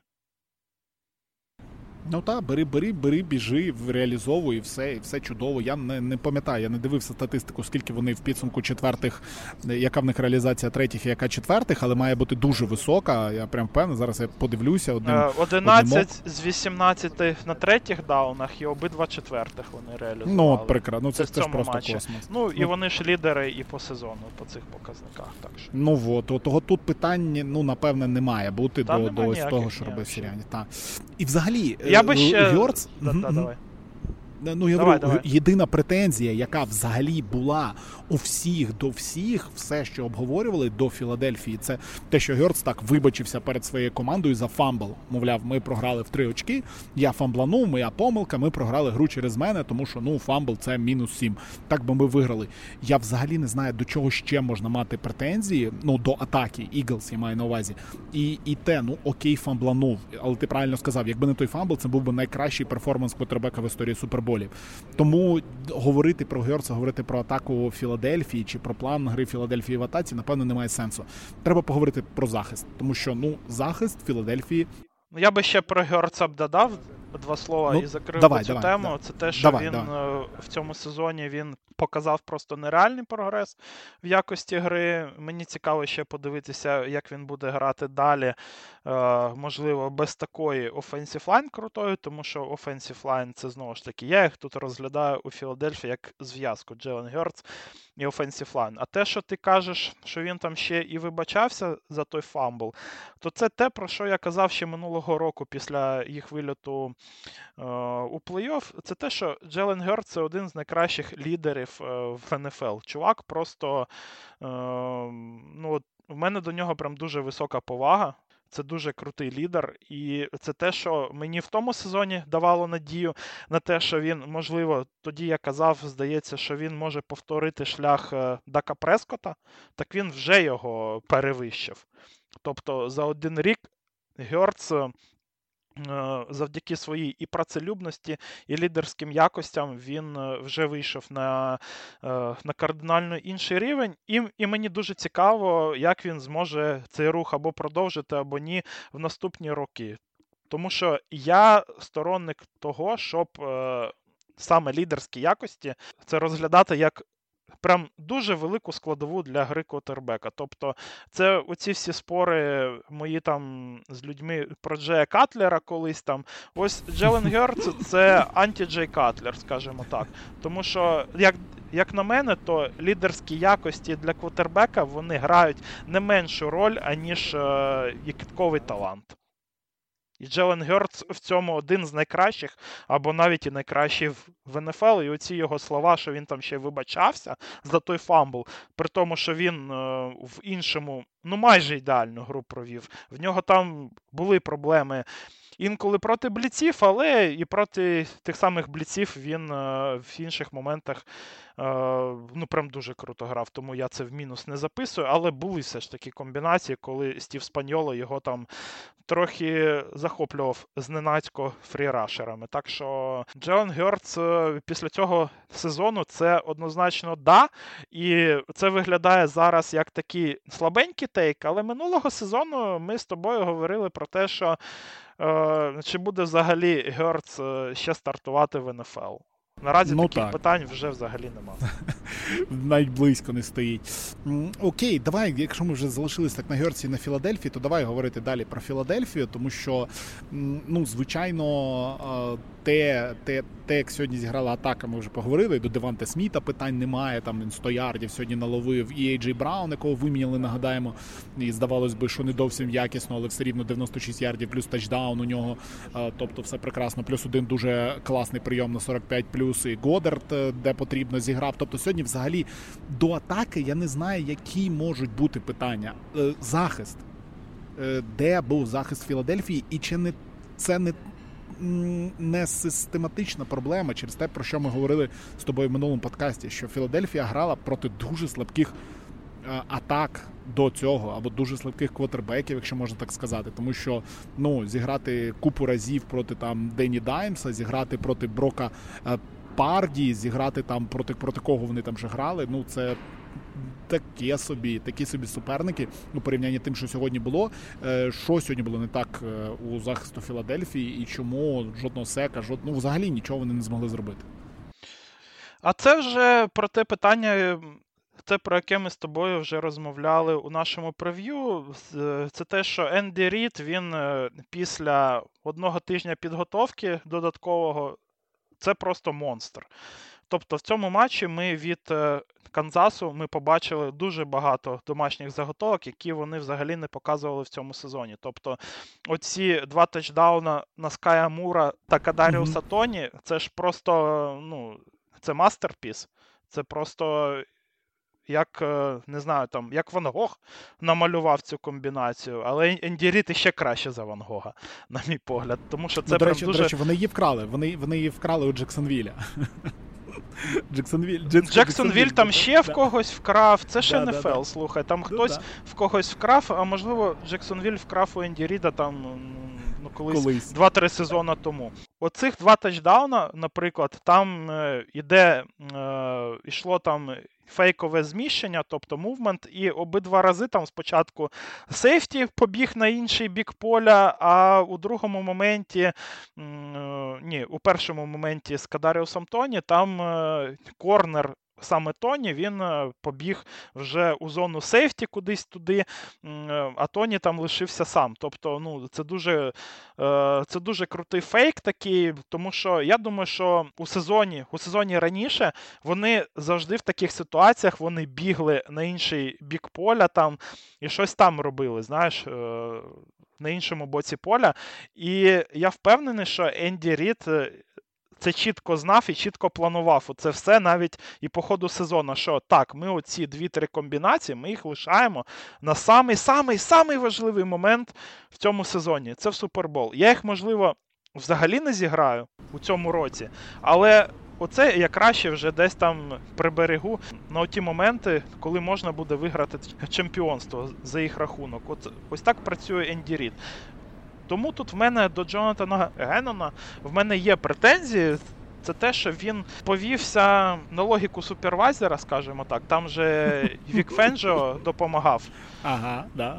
Ну так, бери, бери, бери, біжи, реалізовуй, і все, і все чудово. Я не, не пам'ятаю, я не дивився статистику, скільки вони в підсумку четвертих, яка в них реалізація третіх і яка четвертих, але має бути дуже висока. Я прям впевнений, зараз я подивлюся. Одним, одинадцять з вісімнадцяти на третіх даунах і обидва четвертих вони реалізували. Ну, от прекрасно. Ну, це, це ж просто матчі. Космос. Ну, і ну, вони ж лідери і по сезону, по цих показниках. Так що. Ну, от, от, того тут питань, ну, напевне, не має бути Та до, до ось того, що робив Сіряні. І взагалі, я би ще... Гьорц... Да, да, давай. Ну, я давай, говорю, давай. Єдина претензія, яка взагалі була у всіх до всіх, все, що обговорювали до Філадельфії, це те, що Гьорц так вибачився перед своєю командою за фамбл. Мовляв, ми програли в три очки, я фамбланув, моя помилка, ми програли гру через мене, тому що, ну, фамбл – це мінус сім. Так би ми виграли. Я взагалі не знаю, до чого ще можна мати претензії, ну, до атаки, Eagles, я маю на увазі. І, і те, ну, окей, фамбланув, але ти правильно сказав, якби не той фамбл, це був би найкращий перформанс квотербека в історії Суперболів. Тому говорити про Гьорца, говорити про атаку Філадельфії чи про план гри Філадельфії в атаці, напевно, немає сенсу. Треба поговорити про захист, тому що, ну, захист Філадельфії... Ну, я би ще про Гьорца б додав два слова ну, і закрив давай, цю давай, тему. давай. Це те, що давай, він давай. в цьому сезоні він показав просто нереальний прогрес в якості гри. Мені цікаво ще подивитися, як він буде грати далі, можливо, без такої offensive line крутої, тому що offensive line це, знову ж таки, я їх тут розглядаю у Філадельфії як зв'язку Джелен Гьорц і offensive line. А те, що ти кажеш, що він там ще і вибачався за той фамбл, то це те, про що я казав ще минулого року після їх вильоту е, у плей-офф. Це те, що Джелен Гьорц – це один з найкращих лідерів е, в ен еф ел. Чувак просто, е, ну, в мене до нього прям дуже висока повага. Це дуже крутий лідер, і це те, що мені в тому сезоні давало надію на те, що він, можливо, тоді я казав, здається, що він може повторити шлях Дака Прескота, так він вже його перевищив. Тобто за один рік Гьорц завдяки своїй і працелюбності, і лідерським якостям він вже вийшов на, на кардинально інший рівень. І, і мені дуже цікаво, як він зможе цей рух або продовжити, або ні в наступні роки. Тому що я сторонник того, щоб е, саме лідерські якості це розглядати як прям дуже велику складову для гри квотербека. Тобто це оці всі спори мої там з людьми про Джея Катлера колись там. Ось Джелен Гьорц – це анті-Джей Катлер, скажімо так. Тому що, як, як на мене, то лідерські якості для квотербека, вони грають не меншу роль, аніж е, кидковий талант. І Джелен Гьорц в цьому один з найкращих, або навіть і найкращий в ен еф ел. І оці його слова, що він там ще вибачався за той фамбл, при тому, що він е, в іншому, ну майже ідеальну гру провів. В нього там були проблеми інколи проти бліців, але і проти тих самих бліців він е, в інших моментах е, ну прям дуже круто грав, тому я це в мінус не записую, але були все ж такі комбінації, коли Стів Спаньоло його там трохи захоплював зненацько фрірашерами. Так що Джелен Гьорц після цього сезону це однозначно да, і це виглядає зараз як такий слабенький тейк, але минулого сезону ми з тобою говорили про те, що е, чи буде взагалі Гьорц ще стартувати в ен еф ел. Наразі ну, таких так. питань вже взагалі немає. Навіть близько не стоїть. Окей, давай, якщо ми вже залишились так на Гьорці і на Філадельфії, то давай говорити далі про Філадельфію, тому що, ну, звичайно, те, те, те, як сьогодні зіграла атака, ми вже поговорили, до Деванте Сміта питань немає, там він сто ярдів сьогодні наловив, і Ей Джей Браун, якого виміняли, нагадаємо, і здавалось би, що не зовсім якісно, але все рівно дев'яносто шість ярдів, плюс тачдаун у нього, тобто все прекрасно, плюс один дуже класний прийом на сорок п'ять плюс, і Годдард, де потрібно, зіграв, тобто сьогодні взагалі до атаки я не знаю, які можуть бути питання. Захист. де був захист Філадельфії, і чи не це не, не систематична проблема через те, про що ми говорили з тобою в минулому подкасті, що Філадельфія грала проти дуже слабких атак до цього, або дуже слабких квотербеків, якщо можна так сказати. Тому що, ну, зіграти купу разів проти там Дені Даймса, зіграти проти Брока Парді, зіграти там проти, проти кого вони там вже грали, ну, це таке собі, такі собі суперники у порівнянні тим, що сьогодні було. Що сьогодні було не так у захисту Філадельфії і чому жодного сека, жод... ну, взагалі нічого вони не змогли зробити. А це вже про те питання, те, про яке ми з тобою вже розмовляли у нашому прев'ю. Це те, що Енді Рід, він після одного тижня підготовки додаткового, це просто монстр. Тобто в цьому матчі ми від Канзасу ми побачили дуже багато домашніх заготовок, які вони взагалі не показували в цьому сезоні. Тобто оці два тачдауна на Ская Мура та Кадаріуса mm-hmm. Тоні, це ж просто, ну, це мастерпіс. Це просто як, не знаю, там, як Ван Гог намалював цю комбінацію, але Енді Рід іще краще за Ван Гога, на мій погляд. Тому що це ну, до прям речі, дуже... До речі, вони її вкрали. Вони, вони її вкрали у Джексонвіля. Джексонвіль, Джексонвіль там ще в когось вкрав, це ще не еф ел, слухай, там хтось в когось вкрав, а можливо Джексонвіль вкрав у Енді Ріда там, ну, колись, колись. два-три сезони тому. Оцих два тачдауна, наприклад, там е, іде, е, йшло там фейкове зміщення, тобто мувмент, і обидва рази там спочатку сейфті побіг на інший бік поля, а у другому моменті, е, ні, у першому моменті з Кадаріусом Тоні, там е, корнер саме Тоні, він побіг вже у зону сейфті кудись туди, а Тоні там лишився сам. Тобто, ну, це дуже, це дуже крутий фейк такий, тому що я думаю, що у сезоні, у сезоні раніше вони завжди в таких ситуаціях вони бігли на інший бік поля там і щось там робили, знаєш, на іншому боці поля. І я впевнений, що Енді Рід це чітко знав і чітко планував. Оце все навіть і по ходу сезону, що так, ми оці дві-три комбінації, ми їх лишаємо на самий-самий-самий важливий момент в цьому сезоні. Це в Супербол. Я їх, можливо, взагалі не зіграю у цьому році, але оце я краще вже десь там приберегу на оті моменти, коли можна буде виграти чемпіонство за їх рахунок. От, ось так працює Енді Рід. Тому тут в мене до Джонатана Геннона в мене є претензії. Це те, що він повівся на логіку супервайзера, скажімо так. Там же Вік Фенджо допомагав ага, да.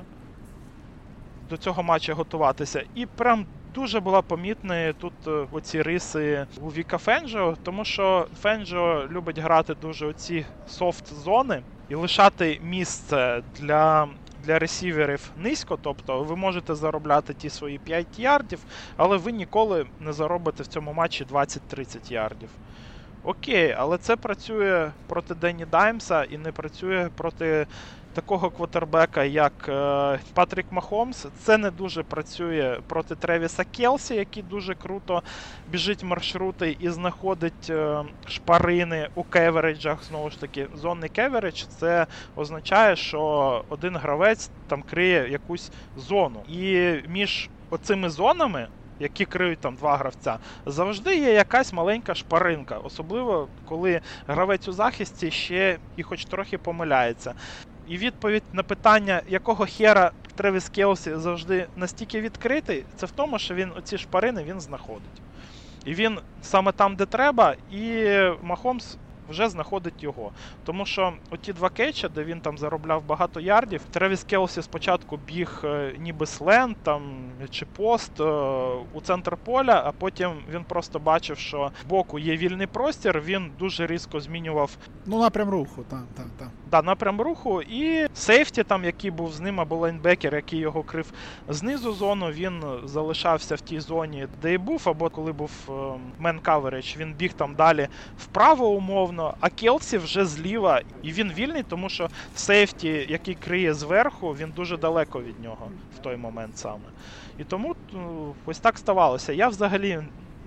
до цього матчу готуватися. І прям дуже була помітна тут оці риси у Віка Фенджо, тому що Фенджо любить грати дуже оці софт-зони і лишати місце для... для ресіверів низько, тобто ви можете заробляти ті свої п'ять ярдів, але ви ніколи не заробите в цьому матчі двадцять-тридцять ярдів. Окей, але це працює проти Дені Даймса і не працює проти такого квотербека, як е, Патрік Махомс. Це не дуже працює проти Тревіса Келсі, який дуже круто біжить маршрути і знаходить е, шпарини у кевереджах. Знову ж таки, зонний кевередж – це означає, що один гравець там криє якусь зону. І між оцими зонами, які криють там два гравця, завжди є якась маленька шпаринка. Особливо, коли гравець у захисті ще і хоч трохи помиляється. І відповідь на питання, якого хера Тревіс Келсі завжди настільки відкритий, це в тому, що він оці шпарини він знаходить. І він саме там, де треба, і Махомс вже знаходить його. Тому що оті два кетча, де він там заробляв багато ярдів, Тревіс Келсі спочатку біг е, ніби сленд там, чи пост е, у центр поля, а потім він просто бачив, що збоку є вільний простір, він дуже різко змінював ну, напрям руху, так, так, так. Да, напрям руху, і сейфті, там, який був з ним, або лайнбекер, який його крив знизу зону, він залишався в тій зоні, де і був, або коли був мен-каверидж, він біг там далі вправо умовно, а Келсі вже зліва, і він вільний, тому що сейфті, який криє зверху, він дуже далеко від нього в той момент саме. І тому ось так ставалося. Я взагалі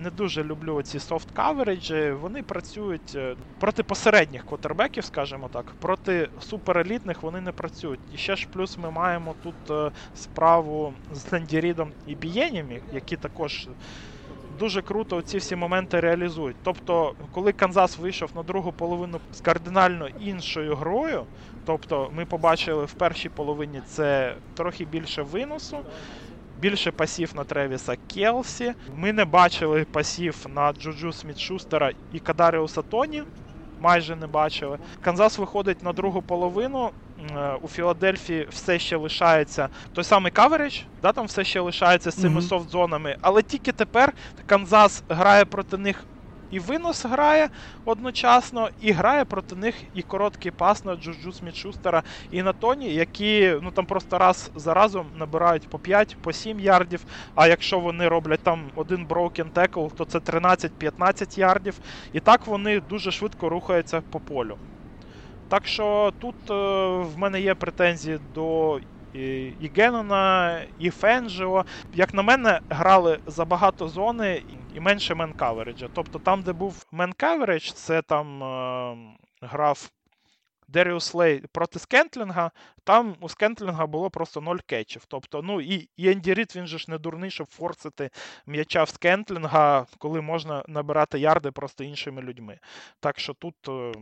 не дуже люблю ці софт-кавереджі, вони працюють проти посередніх квотербеків, скажімо так, проти суперелітних вони не працюють. І ще ж плюс ми маємо тут справу з Енді Рідом і Бієнімі, які також дуже круто ці всі моменти реалізують. Тобто, коли Канзас вийшов на другу половину з кардинально іншою грою, тобто ми побачили в першій половині це трохи більше виносу, більше пасів на Тревіса Келсі. Ми не бачили пасів на Джуджу Сміт-Шустера і Кадаріуса Тоні. Майже не бачили. Канзас виходить на другу половину. У Філадельфії все ще лишається той самий каверидж, да, там все ще лишається з цими mm-hmm. софт-зонами. Але тільки тепер Канзас грає проти них і винос грає одночасно, і грає проти них і короткий пас на Джуджу Сміт-Шустера і на Тоні, які ну там просто раз за разом набирають по п'ять, по сім ярдів, а якщо вони роблять там один broken tackle, то це тринадцять-п'ятнадцять ярдів, і так вони дуже швидко рухаються по полю. Так що тут е, в мене є претензії до і, і Геннона, і Фенджіо. Як на мене, грали забагато зони і менше мен-кавереджа. Тобто там, де був мен-кавередж, це там е, грав Деріус Лей проти Скентлінга, там у Скентлінга було просто ноль кетчів. Тобто, ну і, і Енді Рід, він же ж не дурний, щоб форсити м'яча в Скентлінга, коли можна набирати ярди просто іншими людьми. Так що тут... Е,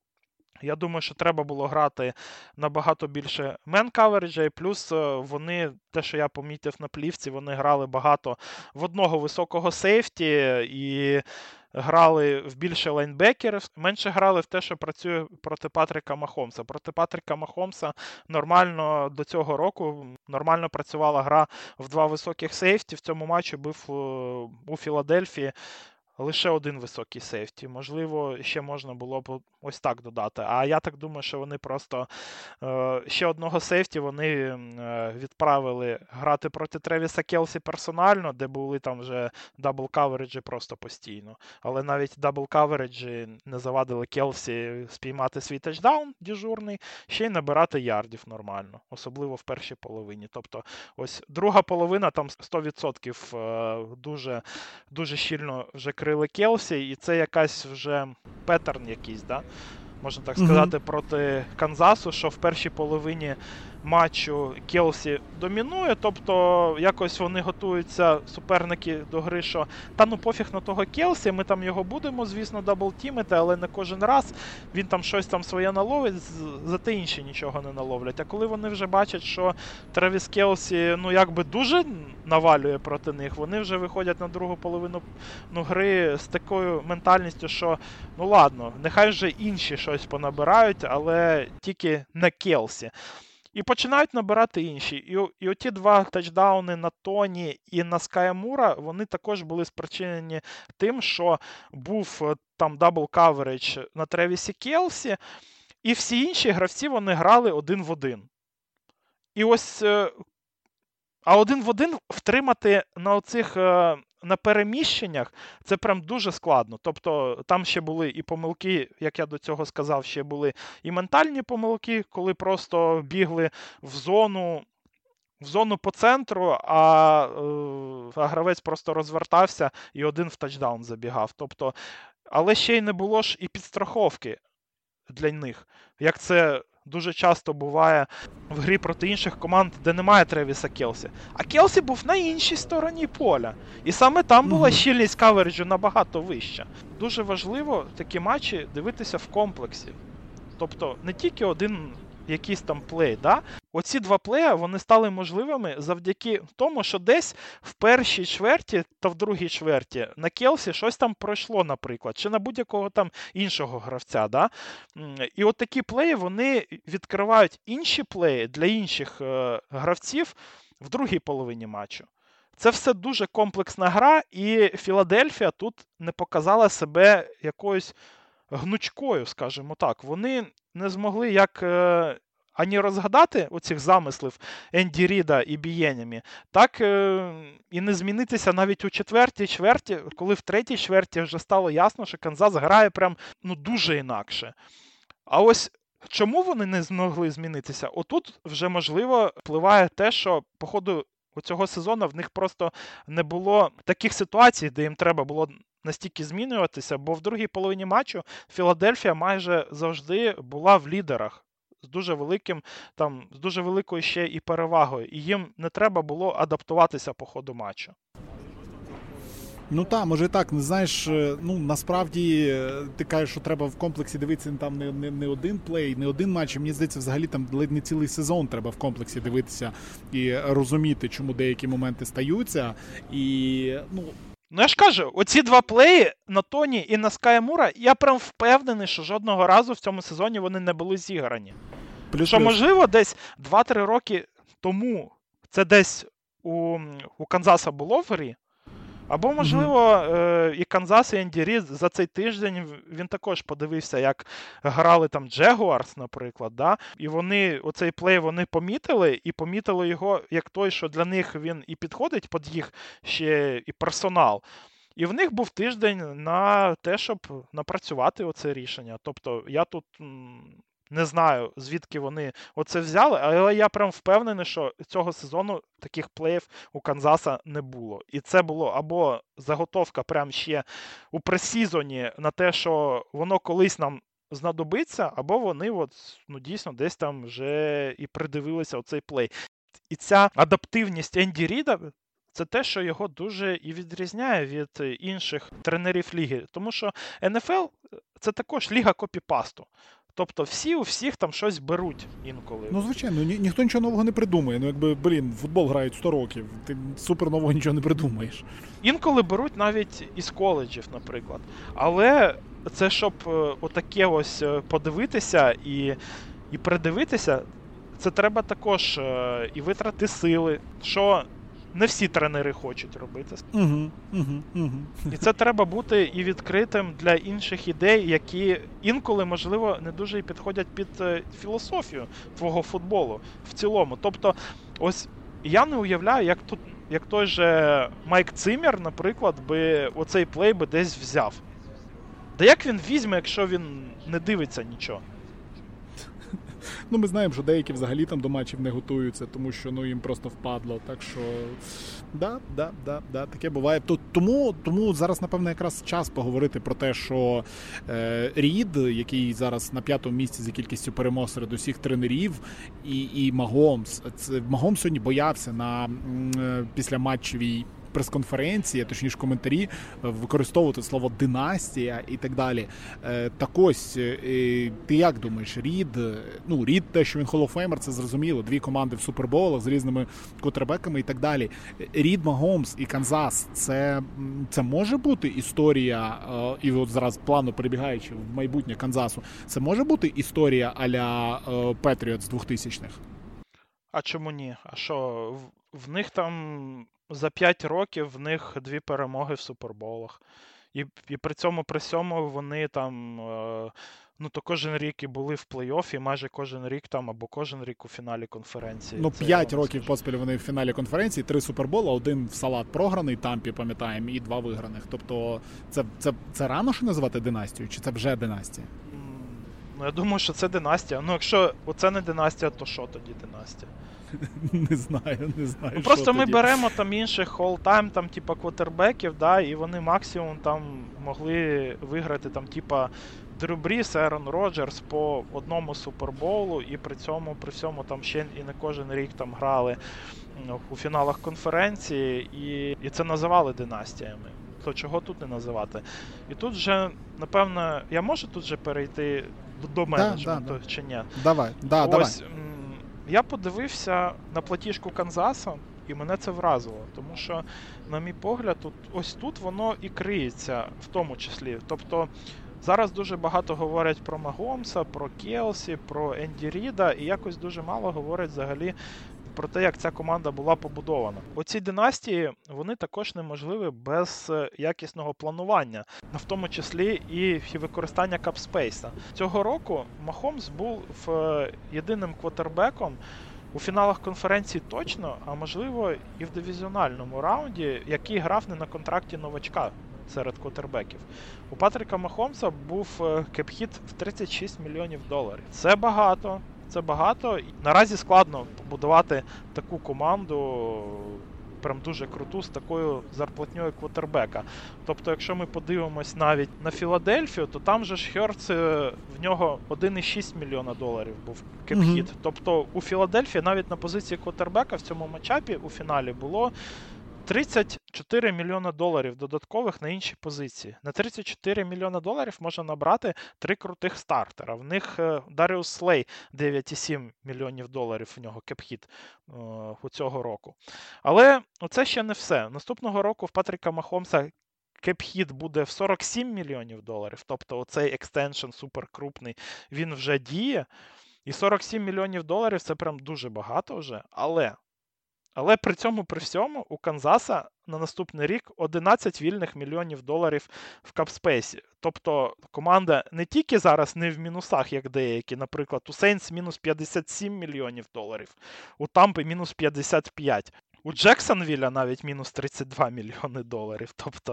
Я думаю, що треба було грати набагато більше мен-кавереджа, і плюс вони, те, що я помітив на плівці, вони грали багато в одного високого сейфті і грали в більше лайнбекерів, менше грали в те, що працює проти Патріка Махомса. Проти Патріка Махомса нормально до цього року нормально працювала гра в два високих сейфті. В цьому матчі був у Філадельфії лише один високий сейфті. Можливо, ще можна було б ось так додати. А я так думаю, що вони просто е, ще одного сейфті вони е, відправили грати проти Тревіса Келсі персонально, де були там вже дабл-кавереджі просто постійно. Але навіть дабл-кавереджі не завадили Келсі спіймати свій тачдаун дежурний, ще й набирати ярдів нормально. Особливо в першій половині. Тобто ось друга половина там сто відсотків е, дуже, дуже щільно вже крили Келсі, і це якась вже петтерн якийсь, да? Можна так сказати, mm-hmm. проти Канзасу, що в першій половині матчу Келсі домінує, тобто якось вони готуються, суперники, до гри, що та ну пофіг на того Келсі, ми там його будемо, звісно, даблтімити, але не кожен раз він там щось там своє наловить, зате інші нічого не наловлять. А коли вони вже бачать, що Тревіс Келсі, ну якби дуже навалює проти них, вони вже виходять на другу половину ну, гри з такою ментальністю, що ну ладно, нехай вже інші щось понабирають, але тільки не Келсі. І починають набирати інші. І, і оті два тачдауни на Тоні і на Ская Мура, вони також були спричинені тим, що був там дабл-кавередж на Тревісі Келсі, і всі інші гравці, вони грали один в один. І ось, а один в один втримати на оцих, на переміщеннях, це прям дуже складно. Тобто там ще були і помилки, як я до цього сказав, ще були і ментальні помилки, коли просто бігли в зону, в зону по центру, а, а гравець просто розвертався і один в тачдаун забігав. Тобто, але ще й не було ж і підстраховки для них, як це дуже часто буває в грі проти інших команд, де немає Тревіса Келсі. А Келсі був на іншій стороні поля. І саме там була mm-hmm. щільність кавереджу набагато вища. Дуже важливо такі матчі дивитися в комплексі. Тобто не тільки один якийсь там плей, да? Оці два плея, вони стали можливими завдяки тому, що десь в першій чверті та в другій чверті на Келсі щось там пройшло, наприклад, чи на будь-якого там іншого гравця, да? І от такі плеї, вони відкривають інші плеї для інших е, гравців в другій половині матчу. Це все дуже комплексна гра, і Філадельфія тут не показала себе якоюсь гнучкою, скажімо так. Вони не змогли як е, ані розгадати оцих замислів Енді Ріда і Бієнімі, так е, і не змінитися навіть у четвертій чверті, коли в третій чверті вже стало ясно, що Канзас грає прям ну, дуже інакше. А ось чому вони не змогли змінитися? Отут вже, можливо, впливає те, що, по ходу у цього сезону в них просто не було таких ситуацій, де їм треба було настільки змінюватися, бо в другій половині матчу Філадельфія майже завжди була в лідерах. З дуже великим, там, з дуже великою ще і перевагою. І їм не треба було адаптуватися по ходу матчу. Ну так, може і так. Не знаєш, ну насправді ти кажеш, що треба в комплексі дивитися там не, не, не один плей, не один матч. Мені здається, взагалі там ледь не цілий сезон треба в комплексі дивитися і розуміти, чому деякі моменти стаються. І, ну... Ну я ж кажу, оці два плеї на Тоні і на Ская Мура, я прям впевнений, що жодного разу в цьому сезоні вони не були зіграні. Плюс, що, плюс. Можливо, десь два-три роки тому це десь у, у Канзаса було в грі, або, можливо, mm-hmm. і Канзас, і Енді Рід за цей тиждень він також подивився, як грали там Джегуарс, наприклад, да? І вони, оцей плей вони помітили, і помітили його як той, що для них він і підходить під їх ще і персонал. І в них був тиждень на те, щоб напрацювати оце рішення. Тобто я тут... Не знаю, звідки вони оце взяли, але я прям впевнений, що цього сезону таких плеїв у Канзаса не було. І це було або заготовка прям ще у пресізоні на те, що воно колись нам знадобиться, або вони от, ну, дійсно десь там вже і придивилися оцей плей. І ця адаптивність Енді Ріда – це те, що його дуже і відрізняє від інших тренерів ліги. Тому що ен еф ел – це також ліга копіпасту. Тобто всі у всіх там щось беруть інколи. Ну, звичайно, ні, ніхто нічого нового не придумує. Ну, якби, блін, футбол грають сто років, ти супер нового нічого не придумаєш. Інколи беруть навіть із коледжів, наприклад. Але це, щоб отаке ось подивитися і, і придивитися, це треба також і витрати сили, що не всі тренери хочуть робити. Угу, угу, угу. І це треба бути і відкритим для інших ідей, які інколи, можливо, не дуже і підходять під філософію твого футболу в цілому. Тобто, ось я не уявляю, як тут, як той же Майк Циммер, наприклад, би оцей плей би десь взяв. Да як він візьме, якщо він не дивиться нічого? Ну, ми знаємо, що деякі взагалі там до матчів не готуються, тому що, ну, їм просто впадло. Так що, да, да, да, да, таке буває. Тому, тому зараз, напевно, якраз час поговорити про те, що е, Рід, який зараз на п'ятому місці за кількістю перемог серед усіх тренерів, і, і Магомс. Це, Магомс сьогодні боявся на е, післяматчевій прес-конференції, точніше коментарі, використовувати слово «династія» і так далі. Так ось, ти як думаєш, Рід, ну, Рід, те, що він Hall-of-Famer, це зрозуміло, дві команди в суперболах з різними квотербеками і так далі. Рід, Магомс і Канзас, це, це може бути історія, і от зараз плавно перебігаючи в майбутнє Канзасу, це може бути історія а-ля Петріотс двохтисячних? А чому ні? А що, в, в них там... За п'ять років в них дві перемоги в суперболах. І, і при цьому, при цьому вони там, е, ну то кожен рік і були в плей-оффі, майже кожен рік там, або кожен рік у фіналі конференції. Ну, п'ять років поспіль вони в фіналі конференції, три супербола, один в салат програний, Тампі, пам'ятаємо, і два виграних. Тобто це, це, це рано що називати династією, чи це вже династія? Ну, я думаю, що це династія. Ну, якщо оце не династія, то що тоді династія? Не знаю, не знаю. Ну, просто ми тоді. беремо там інших all-time, там, типа, квотербеків, да, і вони максимум там могли виграти, там, типа, Дрю Бріс, Ерон Роджерс по одному суперболу, і при цьому, при всьому там ще і не кожен рік там грали ну, у фіналах конференції, і, і це називали династіями. То чого тут не називати? І тут вже, напевно, я можу тут же перейти до менеджменту, да, да, чи ні? Давай, да, Ось, давай. Я подивився на платіжку Канзаса, і мене це вразило, тому що, на мій погляд, тут, ось тут воно і криється в тому числі. Тобто, зараз дуже багато говорять про Магомса, про Келсі, про Енді Ріда, і якось дуже мало говорять взагалі про те, як ця команда була побудована. Оці династії, вони також неможливі без якісного планування, в тому числі і використання капспейса. Цього року Магомс був в єдиним квотербеком у фіналах конференції точно, а можливо і в дивізіональному раунді, який грав не на контракті новачка серед квотербеків. У Патріка Магомса був кеп-хіт в тридцять шість мільйонів доларів. Це багато. це багато. Наразі складно побудувати таку команду, прям дуже круту, з такою зарплатньою квотербека. Тобто, якщо ми подивимось навіть на Філадельфію, то там же ж Херц, в нього один цілих шість мільйона доларів був кеп-хіт. Mm-hmm. Тобто у Філадельфії навіть на позиції квотербека в цьому матчапі у фіналі було тридцять чотири мільйона доларів додаткових на інші позиції. На тридцять чотири мільйона доларів можна набрати три крутих стартера. В них Даріус Слей дев'ять цілих сім мільйонів доларів у нього кеп-хіт е, у цього року. Але це ще не все. Наступного року в Патріка Махомса кеп-хіт буде в сорок сім мільйонів доларів. Тобто оцей екстеншн суперкрупний, він вже діє. І сорок сім мільйонів доларів це прям дуже багато вже. Але... Але при цьому, при всьому, у Канзаса на наступний рік одинадцять вільних мільйонів доларів в капспейсі. Тобто команда не тільки зараз не в мінусах, як деякі, наприклад, у Сейнтс мінус п'ятдесят сім мільйонів доларів, у Тампи мінус п'ятдесят п'ять. У Джексонвілля навіть мінус тридцять два мільйони доларів. Тобто,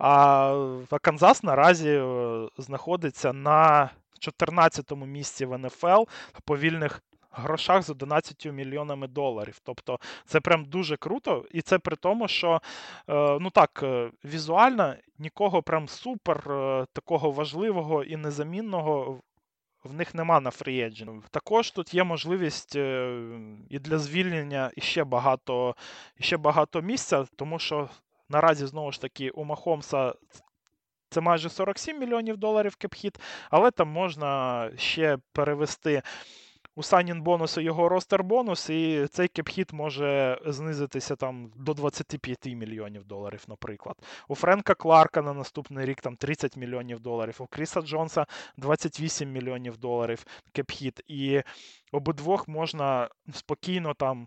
а Канзас наразі знаходиться на чотирнадцятому місці в ен еф ел по вільних грошах з одинадцятьма мільйонами доларів. Тобто це прям дуже круто, і це при тому, що ну так, візуально нікого прям супер такого важливого і незамінного в них нема на фрі-едженті. Також тут є можливість і для звільнення іще багато, іще багато місця, тому що наразі, знову ж таки, у Махомса це майже сорок сім мільйонів доларів кеп-хіт, але там можна ще перевести у sign-in-бонусу його ростер-бонус, і цей кеп-хіт може знизитися там до двадцять п'ять мільйонів доларів, наприклад. У Френка Кларка на наступний рік там тридцять мільйонів доларів, у Кріса Джонса двадцять вісім мільйонів доларів кеп-хіт. І обидвох можна спокійно там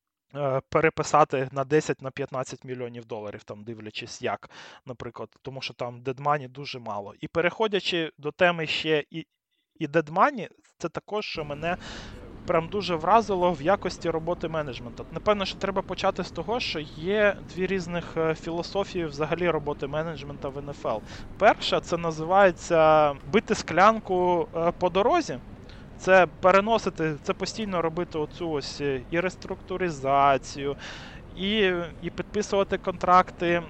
переписати на десять на п'ятнадцять мільйонів доларів, там дивлячись як, наприклад, тому що там дедмані дуже мало. І переходячи до теми ще і І дедмані, це також, що мене прям дуже вразило в якості роботи менеджменту. Напевно, що треба почати з того, що є дві різних філософії взагалі роботи менеджменту в ен еф ел. Перша, це називається бити склянку по дорозі. Це переносити, це постійно робити оцю ось і реструктуризацію, І, і підписувати контракти е,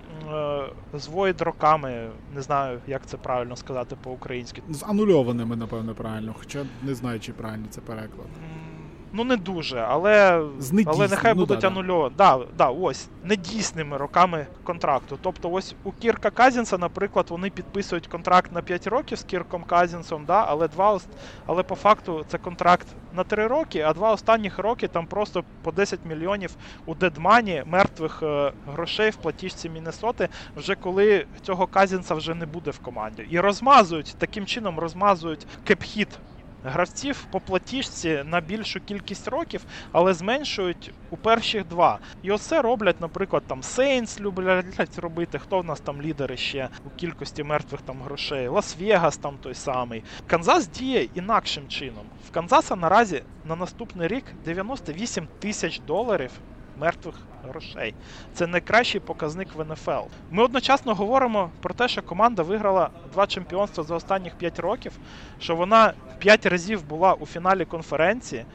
з void-роками, не знаю, як це правильно сказати по-українськи. З анульованими, напевно, правильно, хоча не знаю, чи правильно це переклад. Ну, не дуже, але, але нехай ну, будуть да, анульовані. Да, да, ось, недійсними роками контракту. Тобто ось у Кірка Казінса, наприклад, вони підписують контракт на п'ять років з Кірком Казінсом, да, але, два, але по факту це контракт на три роки, а два останніх роки там просто по десять мільйонів у дедмані мертвих е, грошей в платіжці Міннесоти, вже коли цього Казінса вже не буде в команді. І розмазують, таким чином розмазують кеп-хіт гравців по платіжці на більшу кількість років, але зменшують у перших два. І оце роблять, наприклад, там Сейнтс люблять робити, хто в нас там лідери ще у кількості мертвих там грошей, Лас-Вегас там той самий. Канзас діє інакшим чином. В Канзаса наразі на наступний рік дев'яносто вісім тисяч доларів мертвих грошей. Це найкращий показник в ен еф ел. Ми одночасно говоримо про те, що команда виграла два чемпіонства за останніх п'ять років, що вона п'ять разів була у фіналі конференції,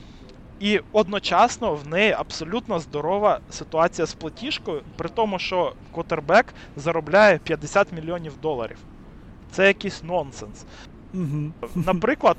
і одночасно в неї абсолютно здорова ситуація з платіжкою, при тому, що квотербек заробляє п'ятдесят мільйонів доларів. Це якийсь нонсенс. Угу. Наприклад,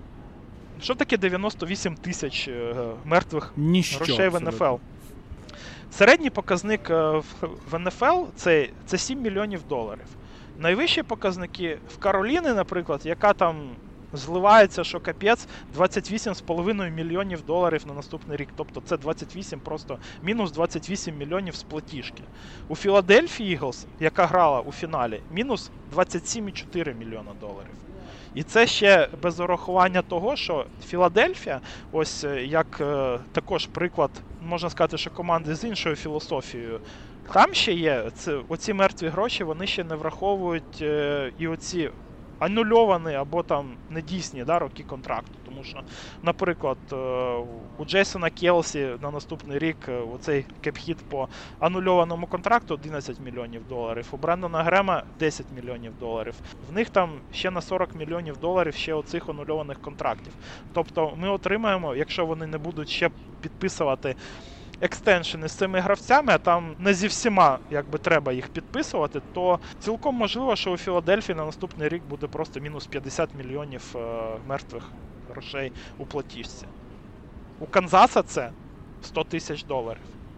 що таке дев'яносто вісім тисяч мертвих Ніщо, грошей в ен еф ел? Середній показник в ен еф ел це, це сім мільйонів доларів. Найвищі показники в Кароліні, наприклад, яка там зливається, що капець, двадцять вісім цілих п'ять мільйонів доларів на наступний рік. Тобто це двадцять вісім просто, мінус двадцять вісім мільйонів з платіжки. У Філадельфії Іглс, яка грала у фіналі, мінус двадцять сім цілих чотири мільйона доларів. І це ще без урахування того, що Філадельфія, ось як е, також приклад, можна сказати, що команди з іншою філософією, там ще є, це, оці мертві гроші, вони ще не враховують е, і оці анульовані або там недійсні, да, роки контракту. Тому що, наприклад, у Джейсона Келсі на наступний рік оцей кеп-хіт по анульованому контракту одинадцять мільйонів доларів, у Брендона Грема десять мільйонів доларів. В них там ще на сорок мільйонів доларів ще оцих анульованих контрактів. Тобто ми отримаємо, якщо вони не будуть ще підписувати екстеншени з цими гравцями, а там не зі всіма якби треба їх підписувати, то цілком можливо, що у Філадельфії на наступний рік буде просто мінус п'ятдесят мільйонів е- мертвих грошей у платіжці. У Канзаса це сто тисяч доларів.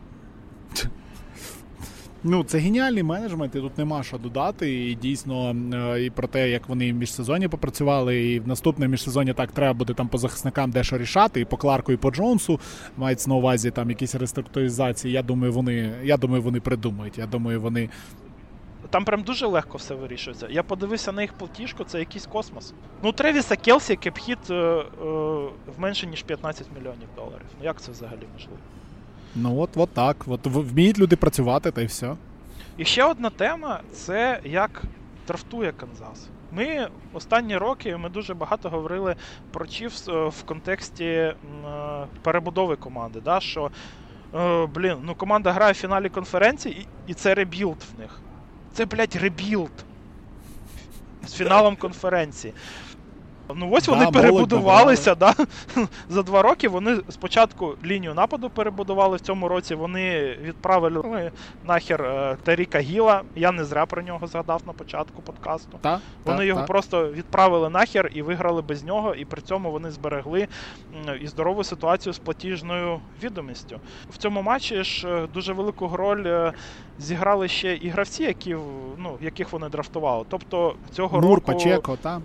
Ну, це геніальний менеджмент, і тут нема що додати. І дійсно, і про те, як вони в міжсезонні попрацювали, і в наступному міжсезонні так треба буде там по захисникам дещо рішати, і по Кларку, і по Джонсу мається на увазі там якісь реструктуризації. Я думаю, вони, я думаю, вони придумають. Я думаю, вони... Там прям дуже легко все вирішується. Я подивився на їх платіжку, це якийсь космос. Ну, Тревіса Келсі кеп-хіт е, е, в менше, ніж п'ятнадцять мільйонів доларів. Ну, як це взагалі можливо? Ну, от, от так. От вміють люди працювати, та й все. І ще одна тема – це як драфтує Канзас. Ми останні роки ми дуже багато говорили про Чіфс в контексті е, перебудови команди. Да? Що, е, блін, ну команда грає в фіналі конференції, і, і це ребілд в них. Це, блядь, ребілд з фіналом конференції. Ну ось вони да, перебудувалися, да? За два роки вони спочатку лінію нападу перебудували, в цьому році вони відправили нахер е, Таріка Гіла, я не зря про нього згадав на початку подкасту. Та, вони та, його та. просто відправили нахер і виграли без нього, і при цьому вони зберегли м, і здорову ситуацію з платіжною відомістю. В цьому матчі ж дуже велику роль е, зіграли ще і гравці, які, ну, яких вони драфтували. Тобто цього Мур, року... Пачеко, та?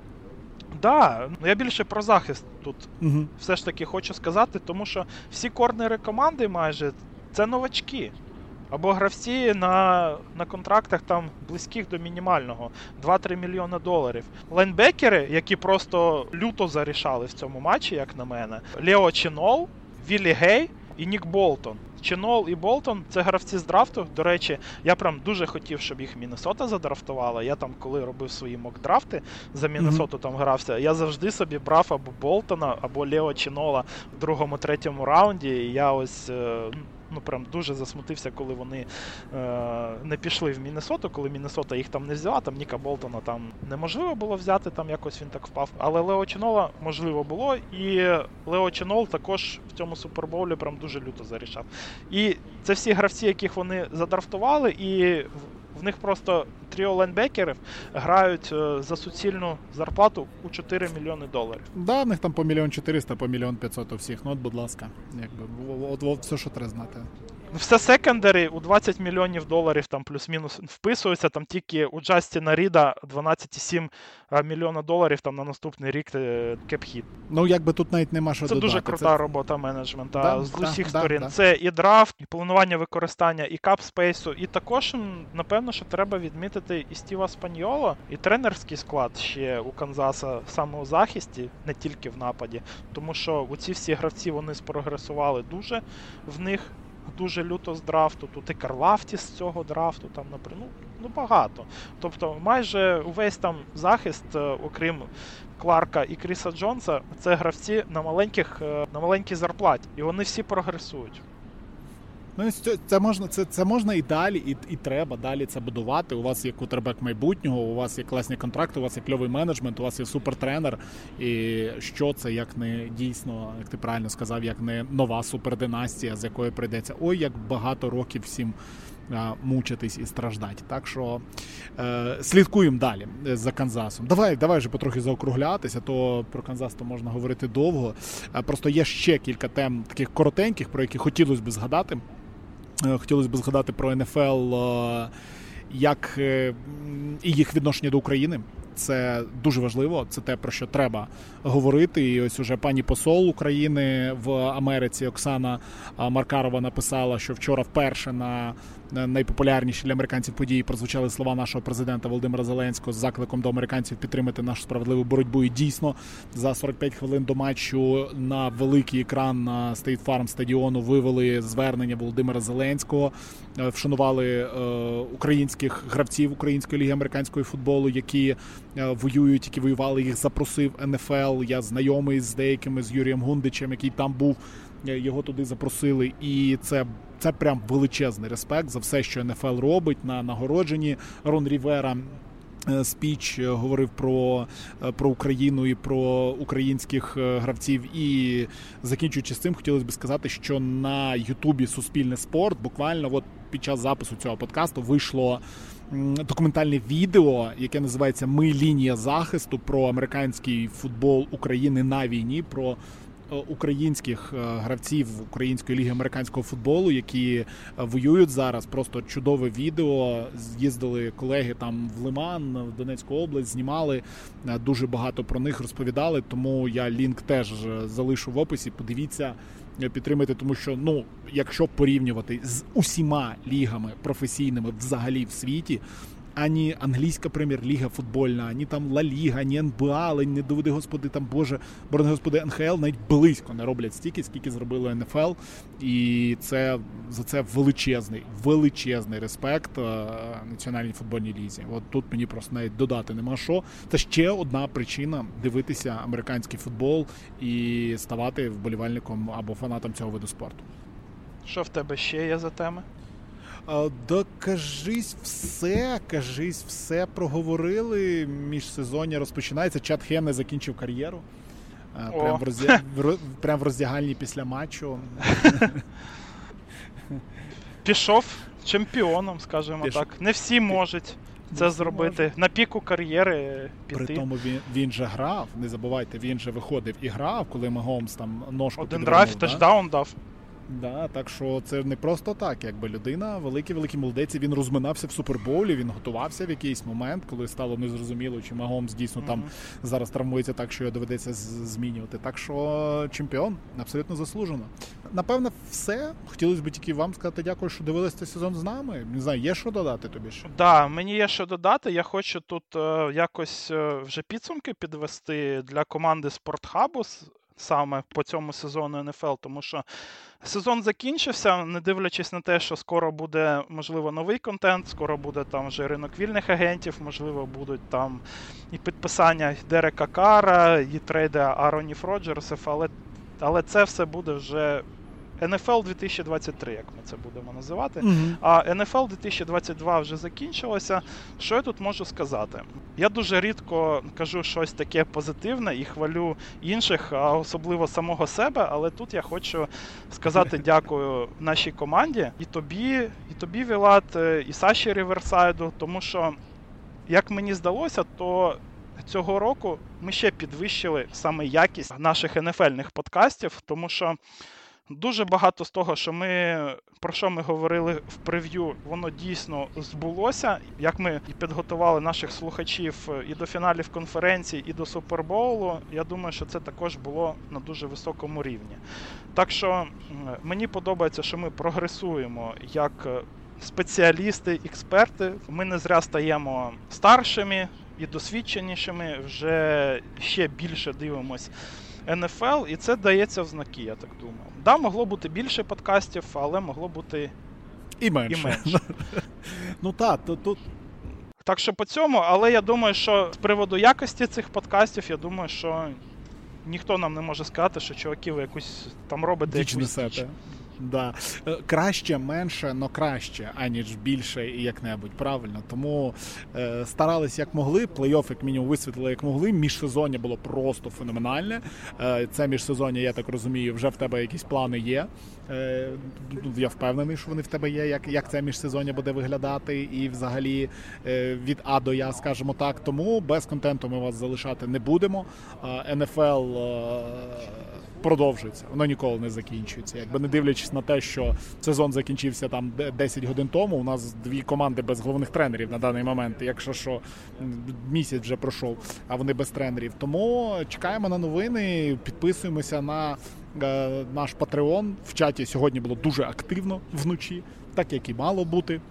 Да, ну я більше про захист тут угу. все ж таки хочу сказати, тому що всі корнери команди майже це новачки. Або гравці на, на контрактах там близьких до мінімального, два-три мільйони доларів. Лайнбекери, які просто люто зарішали в цьому матчі, як на мене, Лео Чинол, Віллі Гей і Нік Болтон. Чинол і Болтон – це гравці з драфту. До речі, я прям дуже хотів, щоб їх Міннесота задрафтувала. Я там, коли робив свої мок-драфти, за Міннесоту mm-hmm. там грався, я завжди собі брав або Болтона, або Лео Чинола в другому-третьому раунді. І я ось... ну, прям дуже засмутився, коли вони е, не пішли в Міннесоту, коли Міннесота їх там не взяла, там Ніка Болтона там неможливо було взяти, там якось він так впав. Але Лео Чинола можливо було, і Лео Чинол також в цьому супербоулі прям дуже люто зарішав. І це всі гравці, яких вони задрафтували, і в них просто тріо лайнбекерів грають за суцільну зарплату у чотири мільйони доларів. Да, в них там по мільйон чотириста, по мільйон п'ятсот у всіх. Ну от, будь ласка, якби от, от все, що треба знати. Все секондарі у двадцять мільйонів доларів там плюс-мінус вписуються, там тільки у Джастіна Ріда дванадцять цілих сім мільйона доларів там на наступний рік кеп-хіт. Ну, якби тут навіть нема що Це додати. Це дуже крута Це... робота менеджмента да, з да, усіх да, сторін. Да. Це і драфт, і планування використання, і кап-спейсу, і також, напевно, що треба відмітити і Стіва Спаньоло, і тренерський склад ще у Канзаса саме у захисті, не тільки в нападі, тому що оці всі гравці, вони спрогресували дуже в них, дуже люто з драфту, тут і Карлафті з цього драфту, там, наприклад, ну, ну багато. Тобто майже увесь там захист, окрім Кларка і Кріса Джонса, це гравці на маленьких, на маленькій зарплаті, і вони всі прогресують. Ну, це можна, це, це можна і далі, і, і треба далі це будувати. У вас є квотербек майбутнього, у вас є класні контракти, у вас є кльовий менеджмент, у вас є супертренер. І що це, як не дійсно, як ти правильно сказав, як не нова супердинастія, з якої прийдеться ой, як багато років всім а, мучитись і страждати. Так що е, слідкуємо далі за Канзасом. Давай, давай вже потрохи заокруглятися, то про Канзас то можна говорити довго. А, просто є ще кілька тем таких коротеньких, про які хотілося б згадати. Хотілося б згадати про ен еф ел, як і їх відношення до України. Це дуже важливо, це те, про що треба говорити. І ось уже пані посол України в Америці Оксана Маркарова написала, що вчора вперше на найпопулярніші для американців події прозвучали слова нашого президента Володимира Зеленського з закликом до американців підтримати нашу справедливу боротьбу. І дійсно, за сорок п'ять хвилин до матчу на великий екран на State Farm стадіону вивели звернення Володимира Зеленського, вшанували е, українських гравців Української ліги американського футболу, які е, воюють, які воювали, їх запросив ен еф ел. Я знайомий з деякими, з Юрієм Гундичем, який там був, його туди запросили. І це, це прям величезний респект за все, що ен еф ел робить на нагородженні. Рон Рівера спіч говорив про, про Україну і про українських гравців. І закінчуючи з цим, хотілося б сказати, що на Ютубі Суспільне спорт буквально от під час запису цього подкасту вийшло документальне відео, яке називається «Ми лінія захисту», про американський футбол України на війні, про українських гравців Української ліги американського футболу, які воюють зараз. Просто чудове відео. З'їздили колеги там в Лиман, в Донецьку область, знімали, дуже багато про них розповідали, тому я лінк теж залишу в описі. Подивіться, підтримайте, тому що, ну, якщо порівнювати з усіма лігами професійними взагалі в світі, ані англійська прем'єр-ліга футбольна, ані там Ла Ліга, ані ен бе а, не доведи господи, там, боже, борони господи, ен ха ел навіть близько не роблять стільки, скільки зробило ен еф ел. І це, за це величезний, величезний респект е, Національній футбольній лізі. От тут мені просто навіть додати нема що. Це ще одна причина дивитися американський футбол і ставати вболівальником або фанатом цього виду спорту. Що в тебе ще є за теми? Да, кажись все, кажись все проговорили. Міжсезоння розпочинається. Чад Хенне закінчив кар'єру. Прям в, роздя... Прям в роздягальні після матчу. Пішов чемпіоном, скажімо Піш... так. Не всі можуть це не зробити. Може. На піку кар'єри піти. При тому він, він же грав, не забувайте, він же виходив і грав, коли Магомс там ножку Один драйв, тачдаун дав. Да, так що це не просто так, якби людина, великий-великий молодець, він розминався в Супербоулі, він готувався в якийсь момент, коли стало незрозуміло, чи Магомс дійсно mm-hmm. там зараз травмується так, що його доведеться змінювати. Так що чемпіон, абсолютно заслужено. Напевно, все. Хотілося б тільки вам сказати дякую, що дивилися цей сезон з нами. Не знаю, є що додати тобі? Так, да, мені є що додати. Я хочу тут е, якось е, вже підсумки підвести для команди Спортхабу саме по цьому сезону ен еф ел, тому що сезон закінчився, не дивлячись на те, що скоро буде, можливо, новий контент, скоро буде там вже ринок вільних агентів, можливо, будуть там і підписання Дерека Кара, і трейди Аронів Роджерсів, але, але це все буде вже ен еф ел дві тисячі двадцять три, як ми це будемо називати. Mm-hmm. А ен еф ел дві тисячі двадцять два вже закінчилося. Що я тут можу сказати? Я дуже рідко кажу щось таке позитивне і хвалю інших, а особливо самого себе, але тут я хочу сказати дякую нашій команді, і тобі, і тобі, Вілат, і Саші Ріверсайду, тому що, як мені здалося, то цього року ми ще підвищили саме якість наших ен еф ельних подкастів, тому що дуже багато з того, що ми, про що ми говорили в прев'ю, воно дійсно збулося. Як ми підготували наших слухачів і до фіналів конференції, і до Супербоулу, я думаю, що це також було на дуже високому рівні. Так що мені подобається, що ми прогресуємо як спеціалісти, експерти. Ми не зря стаємо старшими і досвідченішими, вже ще більше дивимось ен еф ел, і це дається в знаки, я так думаю. Да, могло бути більше подкастів, але могло бути і менше. І менше. Ну так, то тут... Так що по цьому, але я думаю, що з приводу якості цих подкастів, я думаю, що ніхто нам не може сказати, що чуваки, ви якусь там робите діч якусь діч. Да. Краще, менше, но краще, аніж більше і як-небудь, правильно. Тому е, старались як могли, плей-офф як мінімум висвітлили як могли, міжсезоння було просто феноменальне. Е, це міжсезоння, я так розумію, вже в тебе якісь плани є. Е, я впевнений, що вони в тебе є, як, як це міжсезоння буде виглядати і взагалі е, від А до Я, скажімо так. Тому без контенту ми вас залишати не будемо. Е, ен еф ел е, продовжується, воно ніколи не закінчується. Якби не дивлячись на те, що сезон закінчився там десять годин тому, у нас дві команди без головних тренерів на даний момент, якщо що, місяць вже пройшов, а вони без тренерів. Тому чекаємо на новини, підписуємося на е, наш Patreon. В чаті сьогодні було дуже активно вночі, так як і мало бути.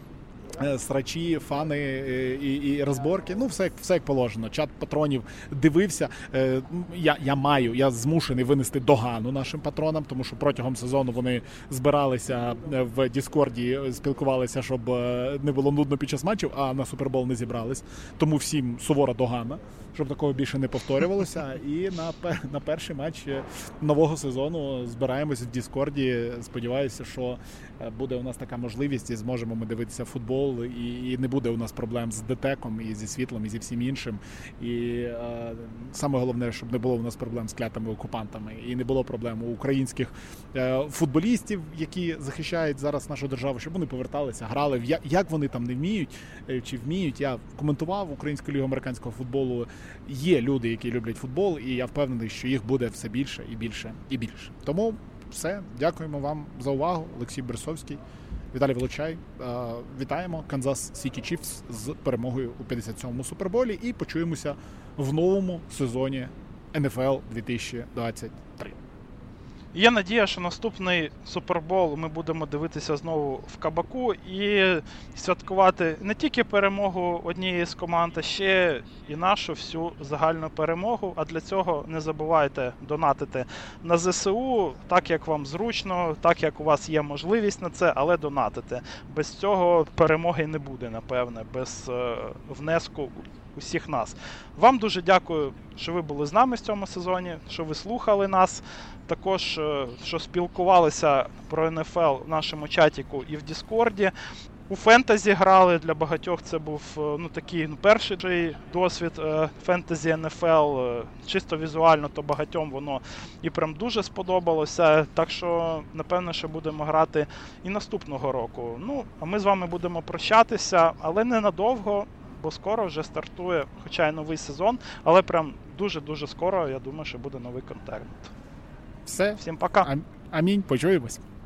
Срачі, фани і, і розборки, ну все, все як положено. Чат патронів дивився. Я, я маю, я змушений винести догану нашим патронам, тому що протягом сезону вони збиралися в Діскорді, спілкувалися, щоб не було нудно під час матчів, а на Супербол не зібрались. Тому всім сувора догана, щоб такого більше не повторювалося. І на, на перший матч нового сезону збираємось в Діскорді. Сподіваюся, що буде у нас така можливість і зможемо ми дивитися футбол. І, і не буде у нас проблем з ДТЕКом, і зі світлом, і зі всім іншим. І е, саме головне, щоб не було у нас проблем з клятими окупантами. І не було проблем у українських е, футболістів, які захищають зараз нашу державу, щоб вони поверталися, грали. Я, як вони там не вміють, е, чи вміють. Я коментував Українську лігу американського футболу. Є люди, які люблять футбол, і я впевнений, що їх буде все більше і більше і більше. Тому все. Дякуємо вам за увагу. Олексій Берсовський. Віталій Волочай. Вітаємо Канзас Сіті Чіфс з перемогою у п'ятдесят сьомому Суперболі і почуємося в новому сезоні ен еф ел дві тисячі двадцять три. Є надія, що наступний Супербол ми будемо дивитися знову в Кабаку і святкувати не тільки перемогу однієї з команд, а ще і нашу всю загальну перемогу. А для цього не забувайте донатити на зе се у, так як вам зручно, так як у вас є можливість на це, але донатити. Без цього перемоги не буде, напевне, без е, внеску усіх нас. Вам дуже дякую, що ви були з нами в цьому сезоні, що ви слухали нас. Також, що спілкувалися про ен еф ел в нашому чатіку і в Діскорді. У фентезі грали, для багатьох це був ну, такий ну, перший досвід фентезі ен еф ел. Чисто візуально, то багатьом воно і прям дуже сподобалося. Так що, напевно, що будемо грати і наступного року. Ну, а ми з вами будемо прощатися, але ненадовго, бо скоро вже стартує, хоча й новий сезон, але прям дуже-дуже скоро, я думаю, що буде новий контент. Все. Всім пока. Амінь. Почуємось.